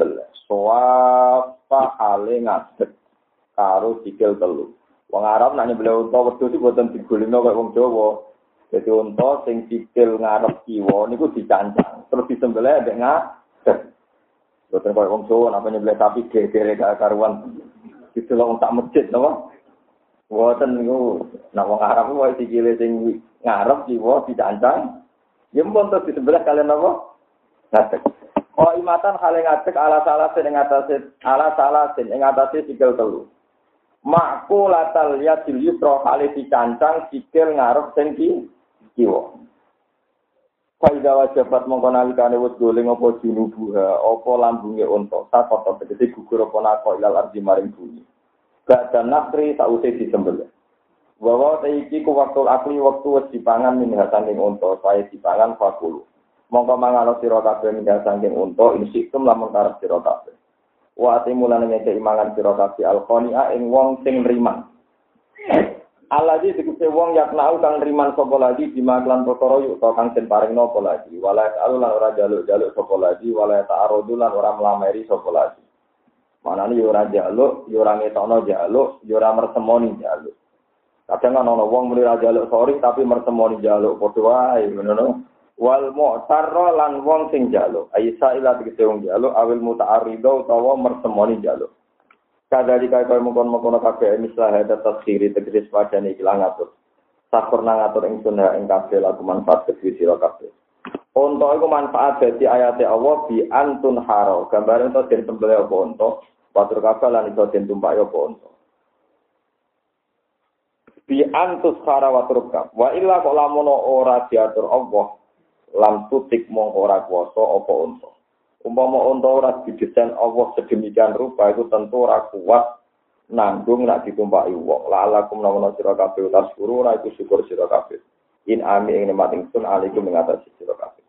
Soapa hale ngadeg karo sikil telu. Wong Arab nek nyembelih unta wedhus iki boten digolino kaya wong Jawa. Jadi unta sing sikil ngarep kiwa niku dicancang, terus disembelih ndek ngadeg. Boten kaya wong Jawa nek nyembelih sapi gegere gak karuan. Didelok tak masjid napa? Boten niku nek wong Arab wae sikile sing ngarep kiwa dicancang. Ya mpun terus disembelih kalian napa? Ngadeg. Oh imatan hale ngadeg ala salah sing ing atase sikil telu. Makku latal yadil yusra kali dicancang sikil ngarep sing kiwa. Faida wajabat mongko nalikane wis goleng apa junubuha apa lambunge unta sakota tegese gugur apa nako ilal ardi maring bumi. Gak dan nakri sause disembelih. Bahwa iki ku waktu akli waktu wis dipangan min hasaning unta saya dipangan fakulu. Mongko mangano sira kabeh min hasaning unta insikum lamun karep sira kabeh. Wa timulane ngeke imangan sira kabeh alqania ing wong sing nriman. Alladzi tegese wong yaknau kang nriman sapa lagi dimaklan perkara yuk to kang den paringno apa lagi wala ta'alulan ora jaluk-jaluk sapa lagi wala ta'arudulan ora mlameri sapa lagi. Manane yo ora jaluk, yo ora ngetokno jaluk, yo ora mertemoni jaluk. Kadang ana wong muni ra jaluk sori tapi mertemoni jaluk padha wae ngono. Wal mu'tarra lan wong sing jaluk aisa ila tegese wong jaluk awil muta'arridho utawa mertemoni jaluk kadari kaya mongkon-mongkon kabeh mislah hada taskhiri tegese padane iki lan ngatur sakurna ngatur ingsun ing kabeh lagu manfaat kedhi sira kabeh unta iku manfaat dadi ayate Allah bi antun haro gambare to den sembelih apa unta patur kabeh lan iso den tumpaki apa unta bi antus khara wa turka wa illa kok lamun ora diatur Allah lam tutik mongko ora kuwasa apa unta. Umpama unta ora didesain Allah sedemikian rupa itu tentu ora kuat nanggung nek ditumpaki wong. La'alakum nawana sira kabeh tasguru ora iku syukur sira kabeh. In ami ing nikmat ingsun alaikum mengatasi sira kabeh.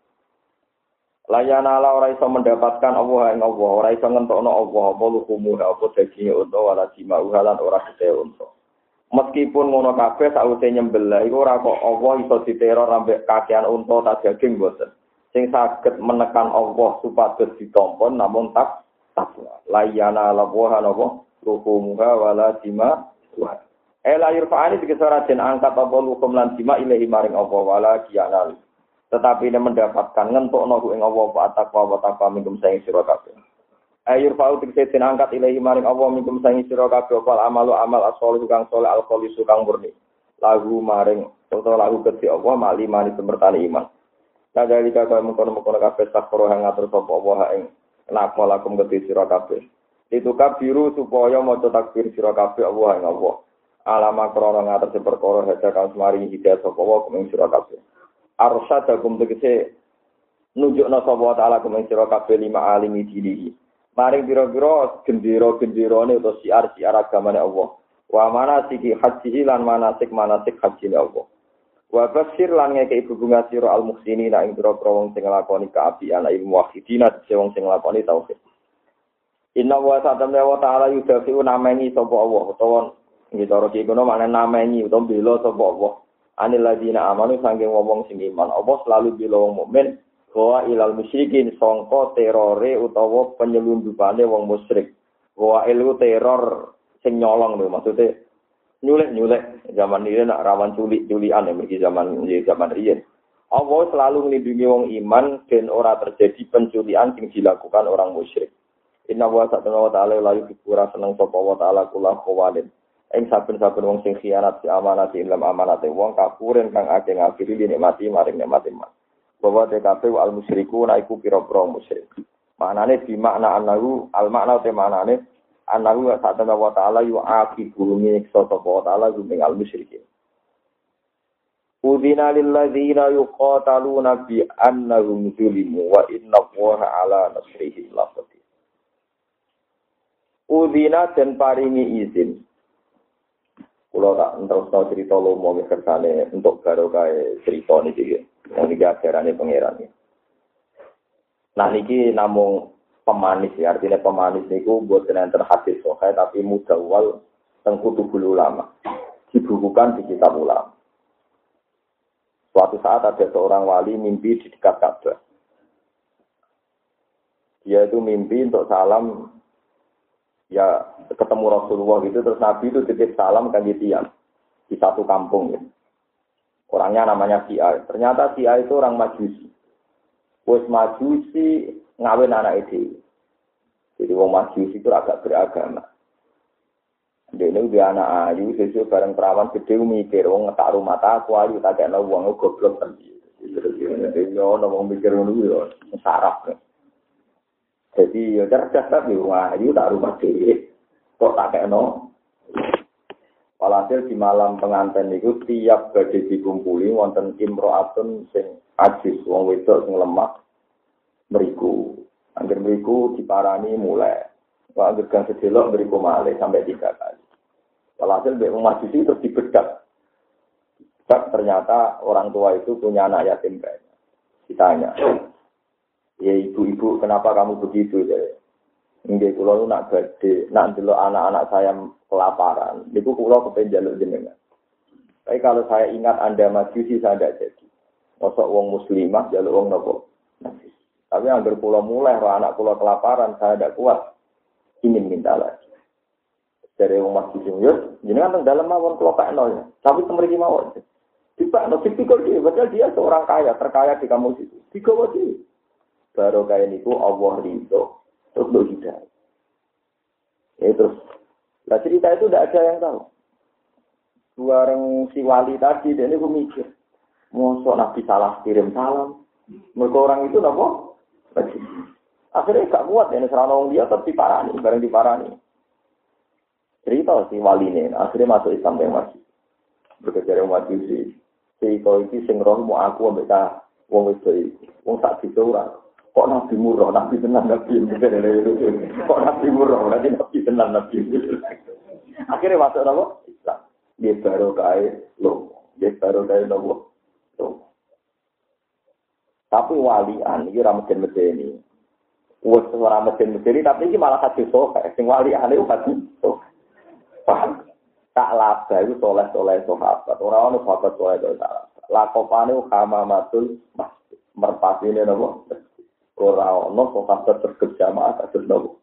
Layana ala ora iso mendapatkan Allah ing Allah, ora iso ngentokno Allah apa lukumu apa daging unta wala dimau halan ora gede unta. Meskipun ngono kabeh sawise nyembelih iku ora kok Allah iso diteror ambek kakean unta ta daging boten. Sing saged menekan Allah supados ditampa namun tak layana lawaha napa ruhumuha wala dima wa. Ela yurfa'ani dikesara den angkat apa lukum lan dima ilahi maring Allah wala kiyanal. Tetapi ini mendapatkan ngentokno ing Allah wa taqwa wa taqwa minkum saing sira kabeh. Ayur fa'u tiksetin angkat ilahi maring Allah minkum sangi sira kabeh wal amalu amal as-shalih kang saleh al-khalis kang murni lagu maring utawa lagu kedhi Allah mali mani semertani iman kadali kaya mengkono-mengkono kabeh sakro hang ngatur sapa Allah ing nakma lakum kedhi sira kabeh itu kabiru supaya maca takbir sira kabeh Allah ing Allah alama krana ngatur perkara hadza kang maring hidayah sapa Allah ing sira kabeh arsyadakum tegese nunjukna sapa taala ing sira kabeh lima alimi dinihi maring biro-biro gendera-genderane utawa siar-siar agamane Allah. Wa manasiki haji lan manasik haji Allah. Wa basir lan ngeke ibu bunga sira al-muhsinina ing biro-biro wong sing nglakoni kaapian ilmu wahidina wong sing nglakoni tauhid. Inna wa ta'ala yudafi'u namengi sapa Allah utawa nggih cara iki kono maknane namengi utawa bela sapa Allah. Anil ladina amanu sanging wong sing iman. Allah selalu bela wong mukmin wa ilal musyrikin sangka terore utawa penyelundupane wong musyrik. Wa ilu teror sing nyolong lho maksude nyulik zaman ini nak rawan culikan ya mriki zaman riyen. Allah selalu melindungi wong iman dan ora terjadi penculikan sing dilakukan orang musyrik. inna wa ta'ala la yuhibbu seneng sapa wa ta'ala kula khawalin. Ing saben-saben wong sing khianat si amanat ilm amanate wong kapuren kang akeh ngafiri nikmati maring nikmati man. Bahwa TKP al musyriku naiku pira-pira musyrik. Maknane di makna anahu al makna te maknane anahu ta'ala wa ta'ala yu'aqibu nyiksa sapa wa ta'ala gumeng al musyrikin. Udina lil ladzina yuqataluna bi annahum zulimu wa inna Allaha ala nasrihim laqadir. Udina den paringi izin. Kula tak terus cerita lomo kersane untuk barokah cerita niki. Niki ajarane pangeran. Nah niki namung pemanis ya, artinya pemanis niku boten enten hadis sahih tapi mudawwal teng kutubul ulama. Dibukukan di kitab ulama. Suatu saat ada seorang wali mimpi di dekat Ka'bah. Dia itu mimpi untuk salam, ya ketemu Rasulullah gitu, terus Nabi itu titip salam kan tiang di satu kampung. Ya. Orangnya namanya Si'a. Ternyata Si'a itu orang Majusi. Wes Majusi ngawin anak itu. Jadi wong Majusi itu agak beragama. Dia ini dia anak ayu, sesuai bareng perawan gede mikir, wong ngetak rumah tak ayu, tak kena uang goblok kan. Jadi ngomong mikir dulu ya, sarap. Jadi ya cerdas tapi wong ayu tak rumah gede, kok tak kena. Walhasil di malam pengantin itu tiap badhe dikumpuli wonten imro'atun sing ajis, wong wedok sing lemah, mriku. Angger mriku diparani mulai. Wah, gergang sedelok beriku malih sampai 3 kali. Walhasil wong Majusi terus dibedak. Ternyata orang tua itu punya anak yatim piatu. Ditanya, ya ibu-ibu kenapa kamu begitu? Nggih kula nu nak badhe nak ndelok anak-anak saya kelaparan. Niku kula kepen njaluk jenengan. Tapi kalau saya ingat Anda Majusi saya tidak jadi. Mosok wong muslimah njaluk wong napa? Tapi anggar kula mulai roh anak kula kelaparan saya tidak kuat. Ingin minta lagi. Dari wong Majusi yo jenengan teng dalem mawon kula kakno ya. Tapi temriki mawon. Dipakno tipikal dia, padahal dia seorang kaya, terkaya di kampus itu. Digawa dia. Baru kaya niku Allah ridho. Terus lo hidayah. Ya terus. Nah cerita itu tidak ada yang tahu. Bareng si wali tadi, dia ini mikir. Mosok Nabi salah kirim salam. Mereka orang itu apa? Akhirnya gak kuat. Ini serana dia tetap diparani. Bareng diparani. Cerita si wali ini. Akhirnya masuk Islam yang masih. Berkejar yang masih si. Si kau itu sing roh mau aku ambek ta wong itu. Wong tak bisa ora. Kok Nabi murah, Nabi tenang, Nabi kok Nabi murah, nanti Nabi tenang, Nabi akhirnya masuk apa? Islam. Dia baru kaya lo, dia baru kaya lo. Tapi walian, ini ramadhan medeni. Wes ramadhan medeni, tapi ini malah hadis soheh. Sing walian itu hadis soheh. Paham? Tak laba itu soleh-soleh sahabat. Orang-orang sahabat soleh itu sahabat. Lakopane hamamatul masjid. Merpati ini apa? Orang-orang sahabat berjamaah kasus nopo.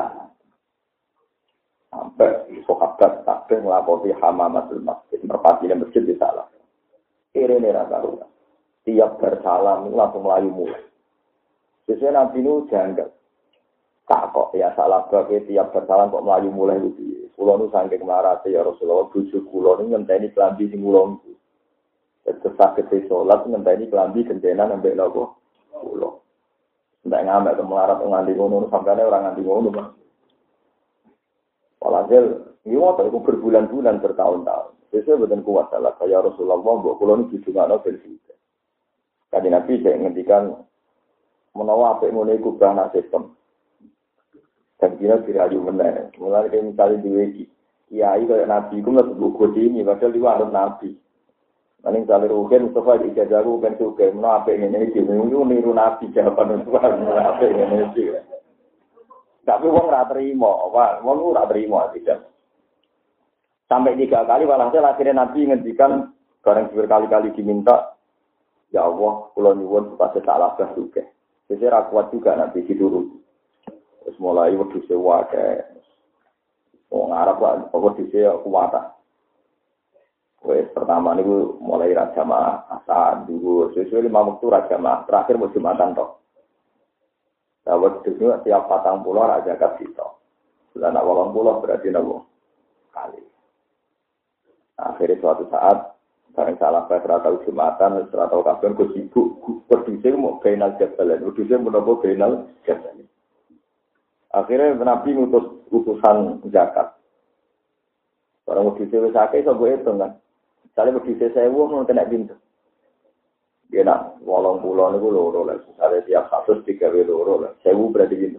Sampai sahabat sampai melakoni hamamatul masjid. Merpati ini masjid di salah. Ini rasa-rasa. Tiap bersalam itu langsung melayu mulai. Sesuai nanti itu janggal. Tak kok ya salah bagi tiap bersalam kok melayu mulai itu. Kulo nu saking marate ya Rasulullah bojo kulo niku ngenteni klambi sing kula niku. Terus sakit salat ngenteni klambi gentenan ambek nopo kulo. Ndak ngamek kemelarat nganti ngono sampane ora nganti ngono, Mas. Walhasil iki waktu itu berbulan-bulan bertahun-tahun. Sesuai boten kuat salah kaya Rasulullah mbok kulo niku didungakno ben sithik. Kanjeng Nabi saya ngendikan menawa apik ngene iku bahana sistem. Dan kira dirayu benar. Mulai kayak misalnya di wiki, kiai kayak nabi, itu nggak sebut ini, padahal dia harus nabi. Nanti misalnya rugen, Mustafa di ijazah rugen juga, mana apa yang ini sih? Niru nabi jawaban Mustafa, apa yang ini sih? Tapi wong nggak terima, wong nggak terima tidak. Sampai 3 kali, walhasil akhirnya nabi ngendikan, barang berkali-kali diminta, ya Allah, pulau nyuwun supaya salah bah juga. Jadi rakuat juga nabi dituruti. Terus mulai waktu sewa ke orang Arab lah, waktu sewa kuwata. Wes pertama ni mulai raja mah asal dulu, sesuai 5 waktu raja mah terakhir musim Jumatan toh. Dawet itu tiap 40 ora zakat kita. Sudah nak 80 berarti nabo kali. Akhirnya suatu saat bareng salah saya tahu Jumatan, tahu kapan ku sibuk berdua mau final jabalan, berdua menapa final jabalan. Akhirnya Nabi ngutus utusan zakat. Orang berdua wis akeh iso mbok hitung kan. Misalnya berdua 1000 mau kena pintu. Dia nak 80 niku loro lah. Misalnya tiap 100 digawe loro lah. 1000 berarti pintu.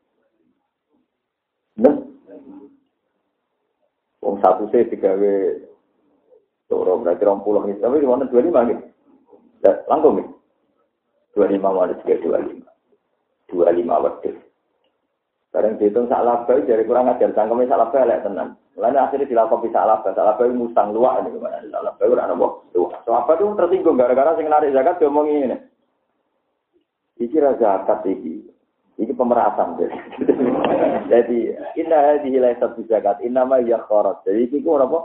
Nah. Wong 1 se digawe loro berarti 20 nih. Tapi di mana 25 gitu. Langkung nih. 25 mana juga 25. 25 wedhus. Bareng dihitung sak labah dari kurang ajar cangkeme sak labah elek tenan. Lalu akhirnya dilakukan sak labah musang luak ini gimana? Sak labah ora ono tuh. So apa tuh tersinggung gara-gara sing narik zakat diomongi ini. Iki ra zakat iki. Iki pemerasan. Jadi inna hadhihi laysat zakat, innama hiya kharat. Jadi iki ku ora apa?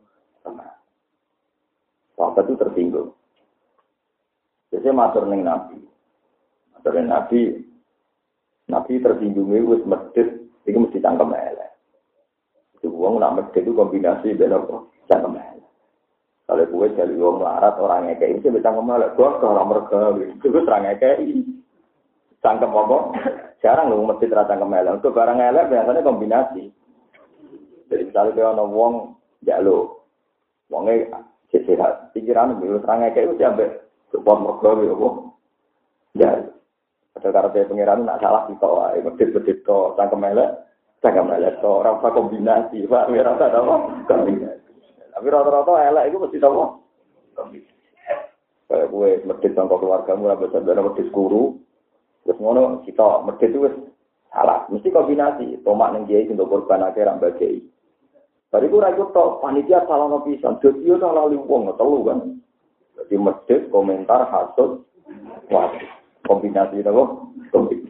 Apa itu tersinggung. Jadi matur ning Nabi. Matur ning Nabi tersinggung wis medhit iki mesti cangkem elek. Itu wong nak medhit itu kombinasi ben apa? Cangkem elek. Kalau gue jadi wong larat orang ngekeki iki bisa cangkem elek. Gua ora merga itu wis ora ngekeki. Cangkem apa? Jarang lho medhit ra cangkem elek. Untuk barang elek biasanya kombinasi. Jadi misalnya ana wong njaluk wonge sehat pikiran wis ora ngekeki wis ambek support merga apa? Ya. Ada karena pengiran nak salah kita, medit to, cangkem elek to, rasa kombinasi, pak, rasa apa? Kombinasi. Tapi rata-rata elek itu mesti apa? Kombinasi. Kayak gue medit tangkap keluargamu, apa saudara medit guru, terus ngono kita medit itu salah, mesti kombinasi. Tomak neng kiai untuk korban akhir ambak kiai. Tadi gue ragu to, panitia salah nopisan, jadi salah liwong, telu kan? Jadi medit komentar hasut, wajib. Kombinasi itu kok kombinasi.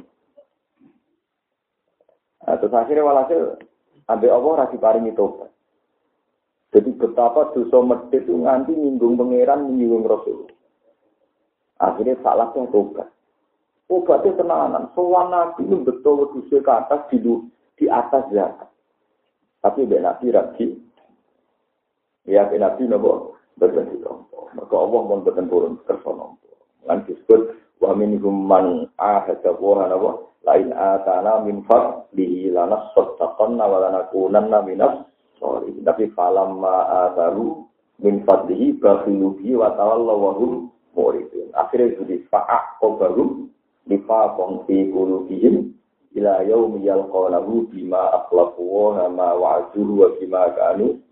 Terus akhirnya walhasil ambil Allah rasi paringi tobat. Jadi betapa dosa medhit itu nganti nyinggung pangeran, nyinggung Rasul. Akhirnya salahnya tobat. Obatnya tenanan. Soal Nabi itu betul dosa ke atas di atas zakat. Tapi dia Nabi lagi. Ya Nabi nopo berganti nompo. Maka Allah mau bertempurun kersonompo. Lan disebut wa minhum man ahada wa hanawa lain atana min fadlihi lanas sattaqanna wa lanakunanna minas sholihin. Tapi falamma ataru min fadlihi bakhilu bihi wa tawallaw wa hum muridun. Akhirnya jadi fa'aqabarum nifaqan fi qulubihim ila yaumi yalqawnahu bima akhlaqu wa ma wa'aduhu wa bima kanu.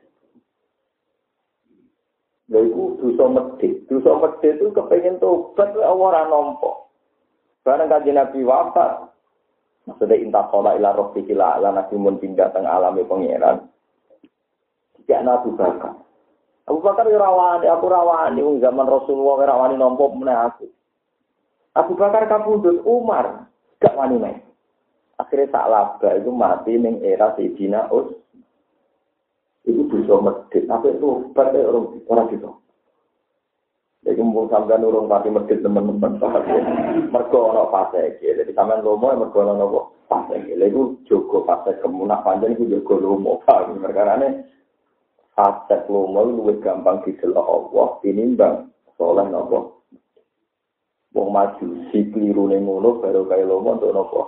Laiku dosa medhit itu kepengen tobat ora nampa. Bareng kanjeng Nabi wafat, maksudnya intakola ila rabbiki la nabi mun pindah teng alame pangeran. Tidak Abu Bakar. Abu Bakar yo rawani, aku rawani wong zaman Rasulullah ora wani nampa meneh aku. Abu Bakar kapundhut Umar, gak wani meneh. Akhirnya sak labah itu mati ning era Sayyidina Utsman. Itu bisa medit, tapi itu pada orang gitu. Jadi mumpung sampean urung pati medit teman-teman mergo ana fase iki. Jadi sampean lomo mergo ana apa? Fase iki. Lha iku jogo fase kemunak panjang iku jogo lomo. Perkarane fase lomo luwih gampang didelok Allah tinimbang saleh napa. Wong maju siklirune ngono baru kaya lomo untuk napa.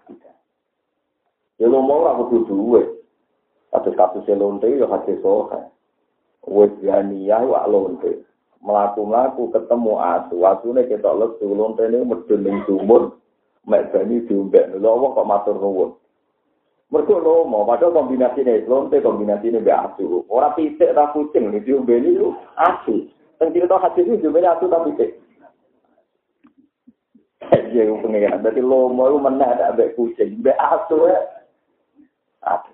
Ya lomo ora kudu duwe. Kasus lonte ya hadis sohe. Wes yaniyah wak lonte. Melaku-melaku ketemu asune ketok lesu lonte ini medun ning sumur. Mek bani diombek. Lha kok matur nuwun. Mergo lomo padahal kombinasine lonte kombinasine mbek asu. Ora pitik ta kucing diombeni lu asu. Sing cerita hadis iki diombeni asu ta pitik. Ya pengen dadi lomo iku meneh ada mbek kucing, mbek asu ya. Asu.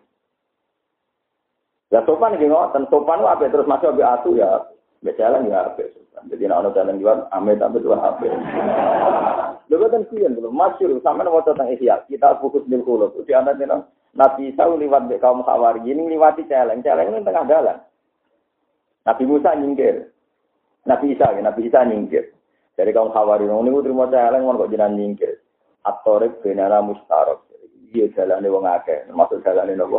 Ya sopan iki ngoten, sopan ku apik terus masuk ambek asu ya, mbek jalan ya apik sopan. Jadi nek ana jalan liwat ame tapi tuh apik. Lha boten kiyen lho, masyhur sampeyan waca teng Ihya, kita fokus ning kula. Di antara Nabi Isa liwat mbek kaum Hawari, ini liwati celeng ini tengah dalan. Nabi Musa nyingkir. Nabi Isa nyingkir. Dari kaum Hawari niku trimo celeng mon kok jenengan nyingkir. at-thariq benana mustarab. Iya jalane wong akeh, termasuk jalane nopo.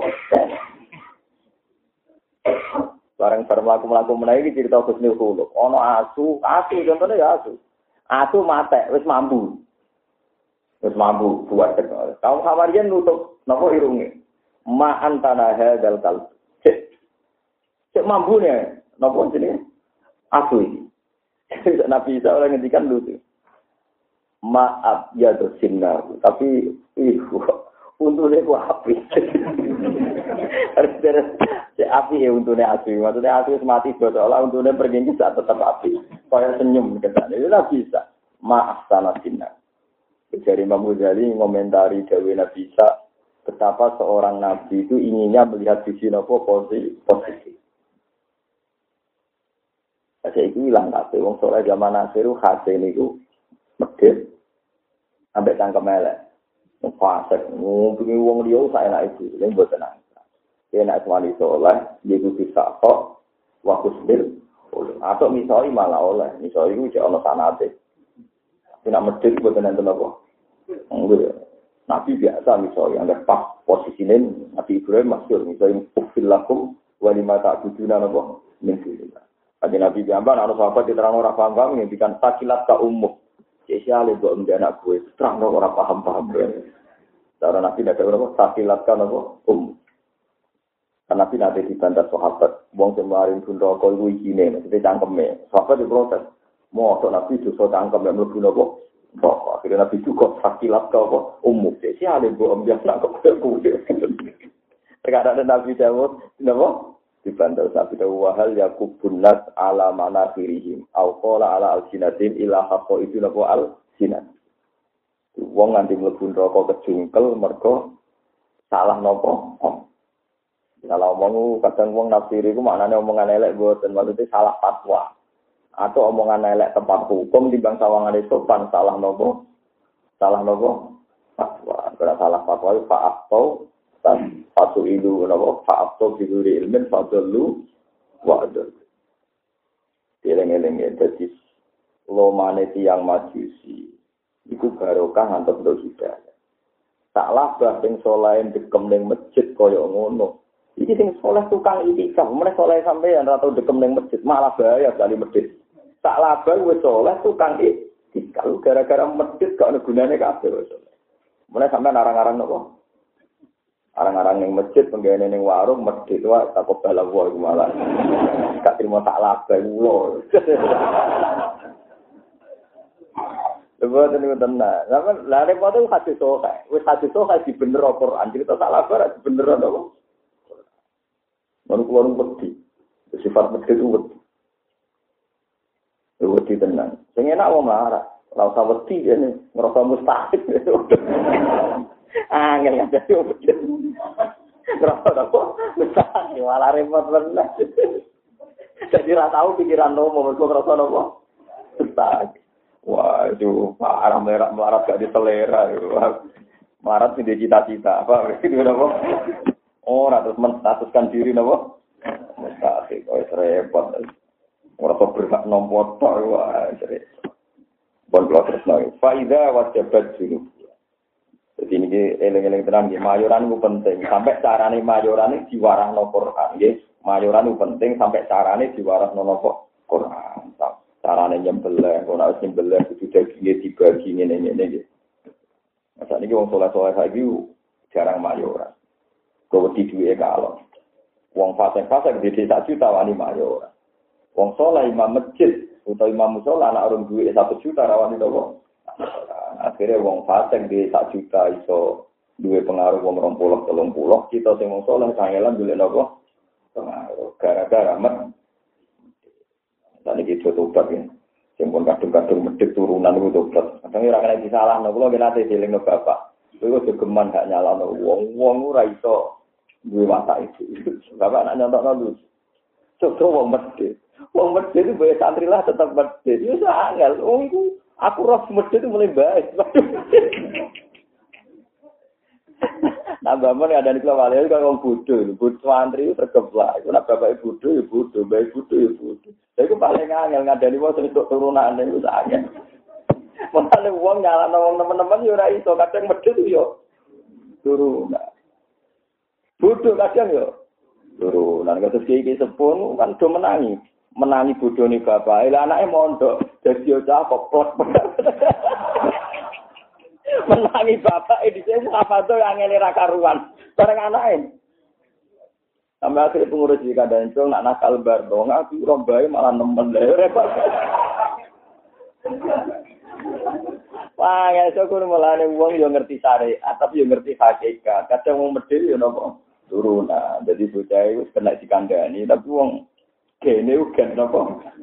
Bareng mlaku-mlaku menawi iki cerita Husnul Khuluq. Ono asu contohnya ya asu. Asu mate wis mambu. Wis mambu buat tek. Kaum Hawarian nutup napa irunge. Ma antana hadzal qalb. Cek mambune napa jenenge? Asu iki. Nabi Isa oleh ngendikan lucu. Maaf ya dosinna, tapi untune ku api. Cek api ya untune api. Maksudnya api mati bodoh untune pergi saat tetap api. Kaya senyum ketane. Itu Nabi Isa. Maaf sana sinna. Dari Imam Ghazali ngomentari dawuh Nabi Isa, betapa seorang nabi itu inginnya melihat sisi napa positif. Saya itu hilang tapi wong soleh zaman akhir hati niku medhit ambek cangkem elek. Fasik ngumpuki wong liya saenak itu, lha mboten nang. Enak wali soleh, dia kudu sakok wa kusbil. Atau misoi malah oleh, misoi iku jek ana sanate. Nek medhit mboten enten apa. Enggak. Nabi biasa misoi ambek pas posisine Nabi Ibrahim masyhur misoi ufil lakum wa lima ta'buduna napa min dunillah. Ada Nabi Jamban, ada sahabat diterang orang paham-paham, yang bikin sakilat ke umum. Spesialnya buat anak gue, terang orang paham-paham. Cara Nabi tidak ada apa, sakilat ke umum. Karena Nabi nanti dibantah sahabat, buang kemarin pun rokok itu izine, maksudnya cangkemnya. Sahabat diprotes, mau Nabi justru cangkem yang lebih nopo. Akhirnya Nabi juga sakilat ke umum. Spesialnya buat anak gue. Terkadang Nabi jawab, kenapa? Dibantah Nabi wahal yakubun nas ala manafirihim au qala ala alsinatin ila haqqo itu napa alsinat. Wong nganti mlebu neraka kejungkel mergo salah napa? Salah omong kadang wong nafsiri iku maknane omongan elek mboten maksudnya salah fatwa. Atau omongan elek tempat hukum timbang sawangane sopan salah napa? Salah napa? Fatwa. Ora salah fatwa fa atau Fatu ilu napa fa'abtu bi ilmin fadallu wa adal. Eleng-eleng dadi lomane tiyang majusi iku barokah ngantos ndo hidayah. Salah bah sing saleh dekem ning masjid kaya ngono. Iki sing saleh tukang itikaf, meneh saleh sampeyan ora tau dekem ning masjid, malah bahaya kali masjid. Salah bah wis saleh tukang itikaf gara-gara masjid gak ono gunane kabeh wis. Meneh sampeyan arang-arang napa? Arang-arang yang masjid, penggane yang warung, masjid itu takut balap wah malah. Gak terima tak labah, ulo. Lepas itu tenang. Lah repot itu hadis sokai. Wis hadis sokai di bener Al-Quran. Jadi tak labah, di bener apa? Warung-warung wedi. Sifat wedi itu wedi. Wedi tenang. Yang enak wong marah. Ora usah wedi ini. Ngerasa mustahil. Angel ada wedi. Ngerasa apa? Mustahil. Malah repot bener. Jadi ora tahu pikiran nomo. Mereka ngerasa apa? Mustahil. Wah, itu parah melarat gak diselera. Melarat tidak cita-cita. Apa? Itu apa? Oh, terus menstatuskan diri apa? Mustahil. Oh, repot. Merasa berhak nombor. Wah, repot. Bon keluar terus lagi. Faidah wajabat dulu. Jadi ini eleng-eleng tenang. Mayoran itu penting. Sampai carane mayoran ini diwarah no Quran. Mayoran itu penting. Sampai carane diwarah no Quran. Carane nyembelih, kalau harus nyembelih itu dagingnya dibagi ini. Masa ini orang soleh-soleh lagi jarang mayoran. Kau di duit kalau. Wong fasek-fasek di desa juta wani mayoran. Wong soleh imam masjid atau imam musola anak orang duit 1 juta rawani itu. Akhirnya wong fasek di 1 juta iso duit pengaruh wong 20-30. Kita sing wong soleh kangelan duit nopo pengaruh. Gara-gara mat. Tadi kita tobat ya, sempun kadung-kadung medhit turunan itu tobat. Kadang ora kena disalahno, kula nggih nate dilingno bapak. Kowe jogeman gak nyalano wong ora iso duwe watak itu. Bapak nak nyontokno lu. Coba wong medhit. Wong medhit itu bae santri lah tetap medhit. Ya angel. Wong iku aku roh medhit itu mulai baik. Nah, bapak ada di keluarga itu kalau bodoh, bodoh santri itu tergeplak. Kalau bapak bodoh, ya bodoh, baik bodoh, ya bodoh. Jadi itu paling angel ngadani wong untuk turunan itu angel. Mulane wong nyalano wong teman-teman yo ora iso, kadang medhit yo turunan. Bodoh kadang yo turunan. Kados iki sepun kan do menangi bodhone bapak. Lah anake mondok dadi yo cah koplok. Menangi bapak dhisik apa to yang ngene ra karuan. Bareng anake. Sampai akhirnya pengurus di Kadancong nak nakal bar dong, aku rombai malah nemen deh. Wah, ya so kudu mulane wong yo ngerti syariat, tapi yo ngerti hakikat. Kadang wong medhil yo napa turunan. Jadi bocah iku kena dikandani, tapi wong kene uga napa.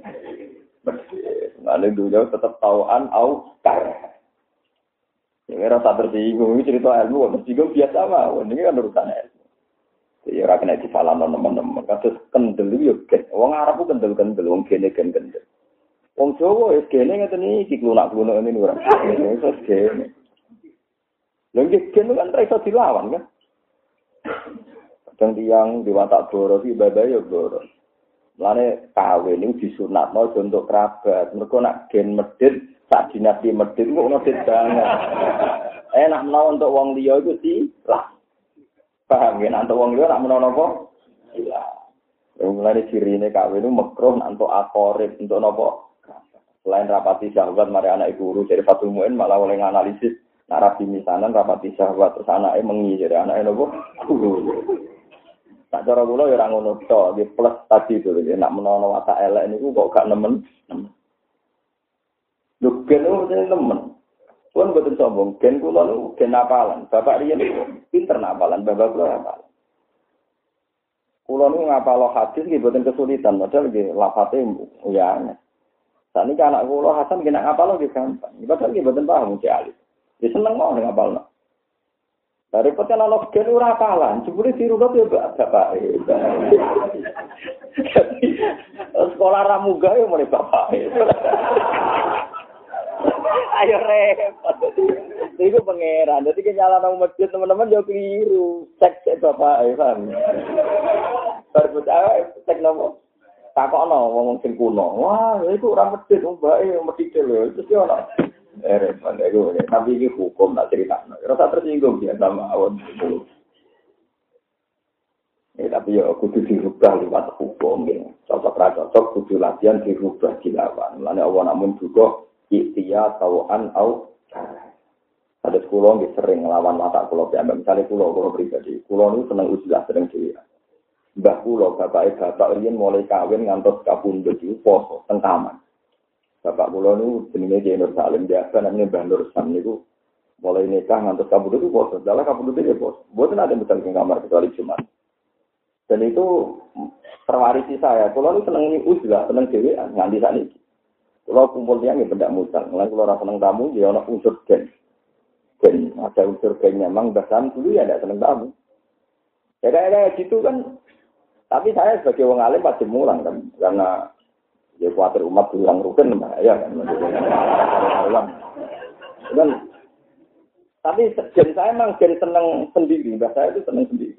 Mane dulu tetep tauan au kar. Ya rasa tersinggung, ini cerita ilmu, tersinggung biasa mah, ini kan urusan ilmu. Ya ora kena disalahno teman-teman, kados kendel yo gen. Wong Arab ku kendel-kendel, wong kene kendel. Wong Jawa wis kene ngeten iki klunak-klunak ngene ora. Wis kene. Lha iki kene kan ra iso dilawan kan. Kadang tiyang diwatak boro iki ibadah yo boro. Mulane kawin niku disunatno untuk kerabat. Mergo nak gen medhit sak dinasti medhit kok medhit banget. Enak menawa untuk wong liya iku lah. Paham ya, untuk wong liya nak menawa napa? Iya. Mulane cirine kawin niku makruh untuk akorib, untuk napa? Selain rapati syahwat mari anak guru dari Fatul Muin malah oleh nganalisis narasi misanan rapati syahwat terus anake mengi dari anake napa? Guru. Tak cara kula ya ora ngono to, di plus tadi itu nak menawa watak elek niku kok gak nemen. Lho gen nemen. Pun boten sombong, gen kula niku gen apalan. Bapak riyen pinter apalan, bapak kula apalan. Kula niku ngapalo hadis nggih boten kesulitan, padahal nggih lafate ya. Saniki anak kula Hasan nggih nak ngapalo nggih gampang. Padahal nggih boten paham mesti alit. Wis seneng mau ngapalno. Dari peten ana gen ora apalan, jebule dirunut ya bapak. Sekolah ra munggah ya mulai bapak. Ayo repot. Iku pangeran. Dadi kenyala nang masjid teman-teman yo keliru. Cek bapak paham. Berbeda cek nopo. Takokno wong sing kuno. Wah, iku ora masjid mbake medhit lho. Terus yo ono. Repot iku. Tapi iki hukum tak critakno. Rasa tersinggung ya sama awon. Tapi ya kudu dirubah lewat hukum ya. Cocok kudu latihan dirubah dilawan. Mulane Allah namun juga ikhtiya tauan au ada sekolah nggih sering nglawan mata kula piyambak misale kula pribadi kula niku seneng ujilah seneng dhewe mbah kula bapak riyen mulai kawin ngantos kapundhut iku poso teng taman bapak kula niku jenenge Ki Nur Salim biasa namanya Mbah Nur Sam niku mulai nikah ngantos kapundhut iku poso dalah kapundhut iki poso mboten ada metal ing kamar kecuali Jumat dan itu terwarisi saya kula niku seneng ujilah seneng dhewe nganti sakniki. Kalau kumpul tiang ya benda mutang. Mulai kalau rasa seneng tamu, dia ada unsur gen. Ada unsur gennya. Memang bahkan dulu ya tidak seneng tamu. Ya kayak gitu kan. Tapi saya sebagai orang alim pasti mulang kan. Karena ya khawatir umat bilang rukun bahaya kan. Dan, tapi gen saya memang gen seneng sendiri. Bahasa saya itu seneng sendiri.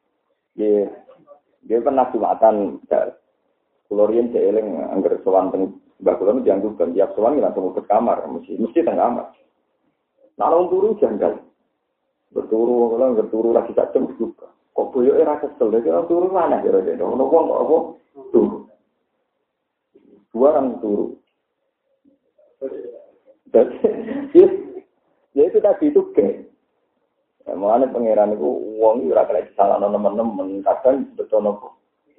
Dia pernah jumatan. Kulorian jeeling angger sowan teng Mbak Kula dianggap tiap sowan langsung ke kamar, mesti teng kamar. Nalung turu janggal. Berturu lagi sak jam juga. Kok boyoke ra kesel, kira turu mana kira-kira. Ono wong kok apa? Turu. Dua orang turu. Ya itu tadi itu ke. Mulane pangeran iku wong ora kena disalahno nemen-nemen, kadang betul nopo.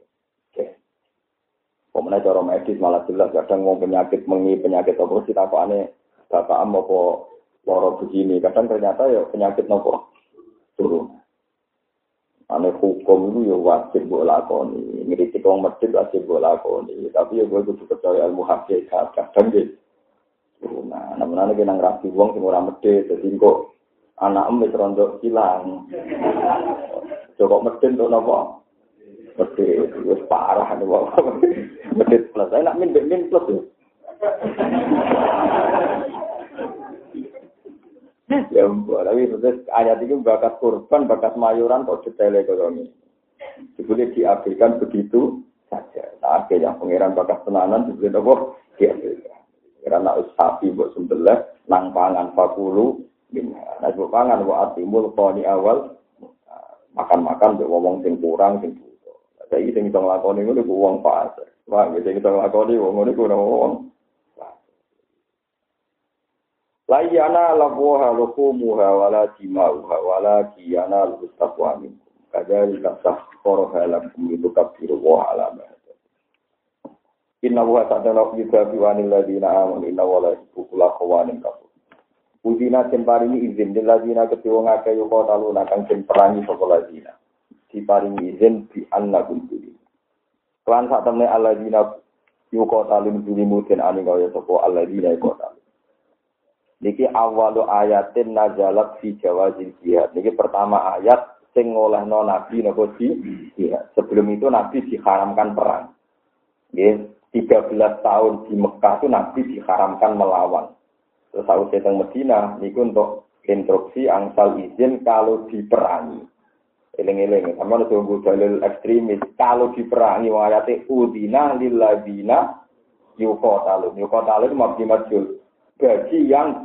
Pemenang cara medis malah jelas kadang mau penyakit apa sih takokane bapak am apa lara begini kadang ternyata ya penyakit nopo turun. Ane hukum itu ya wajib mbok lakoni, ngritik wong medhit wajib mbok lakoni, tapi ya kudu percaya ilmu hakikat kadang nggih. Nah, namane nang rapi wong sing ora medhit dadi kok anakem wis rondo ilang. Kok medhit to napa? Medhit wis parah ane wong. Medhit plus, saya nak min plus ya. Ya ampun, tapi terus ayat itu bakat kurban, bakat mayuran kok detailnya kalau ini. Boleh diabaikan begitu saja. Nah, yang pangeran bakat tenanan dibeli apa? Diabaikan. Karena sapi mbok sembelih nang pangan fakulu minha. Nah mbok pangan wa atimul qani awal makan-makan mbek wong sing kurang sing butuh. Saiki sing iso nglakoni ngono ku wong fasik. Wah, sing iso nglakoni wong ngono ku wong. La yana labuha lukumuha wala dimauha wala kiyana lustaqwa minkum. Kadzalika sakhkharaha lakum litukabbiru wa alama. Inna wa ta'ala yukafi wa anil ladina amanu inna wa la yukula qawanin kafur. Udina paringi izin lil ladina ketiwong akeh yo talu nakang sing perangi sapa ladina. Diparingi izin di annakum duli. Lan sak temne aladina yo talu duli muten ani kaya sapa aladina yo talu. Niki awalu ayatin nazalat fi jawazil jihad. Niki pertama ayat sing ngolehno nabi napa jihad. Sebelum itu nabi diharamkan perang. Nggih, 13 tahun di Mekah itu nabi diharamkan melawan. Terus aku datang Medina niku untuk instruksi angsal izin kalau diperangi. Eling-eling sama tunggu dalil ekstremis kalau diperangi ayate udina lil ladina yuqatalun. Yuqatalun itu mabdi majul. Bagi yang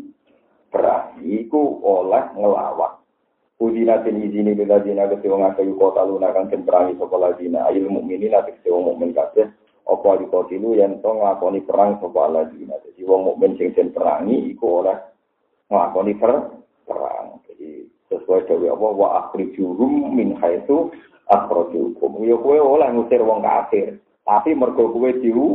diperangi itu oleh ngelawan. Udina bin izini bila dina ketiwong akayu kota luna kan perangi sopa ladina ayil mu'minin atau ketiwong mu'min kabeh apa dikotilu yang to ngelakoni perang sopa ladina. Jadi wong mu'min sing perangi itu oleh ngelakoni perang. Jadi sesuai dari apa wa akhrijuhum min haitsu akhrajukum. Ya kowe oleh ngusir wong kafir, tapi mergo kowe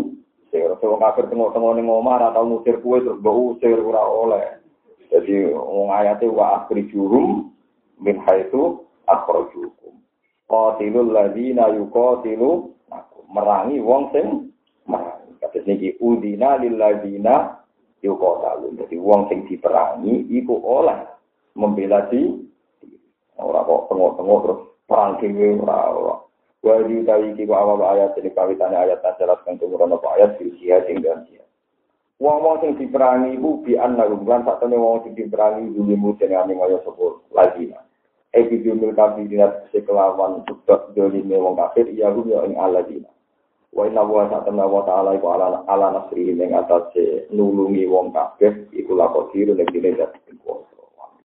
wong kafir tengok-tengok ning omah ora tau ngusir kowe terus mbok usir ora oleh. Jadi wong ayate wa akhrijuhum min haitsu akhrajukum. Qatilul ladina yuqatilu merangi wong sing merangi. Kados niki udina lil ladina yuqatalu. Jadi wong sing diperangi iku oleh membela diri. Ora kok tengok-tengok terus perang dhewe ora. Wali utawi iki awal ayat ini kawitane ayat nazalat kang tumurun apa ayat jihad ing dalem jihad. Wong-wong sing diperangi iku bi anna lan sakjane wong sing diperangi duwe muten ane kaya sapa lagi. Epidemiol kabinet sekelawan sebab dolime wong kafir ya yo ing aladina. Wa inna wa ta'ala iku ala nasri ing atase nulungi wong kafir iku lakodir nek dene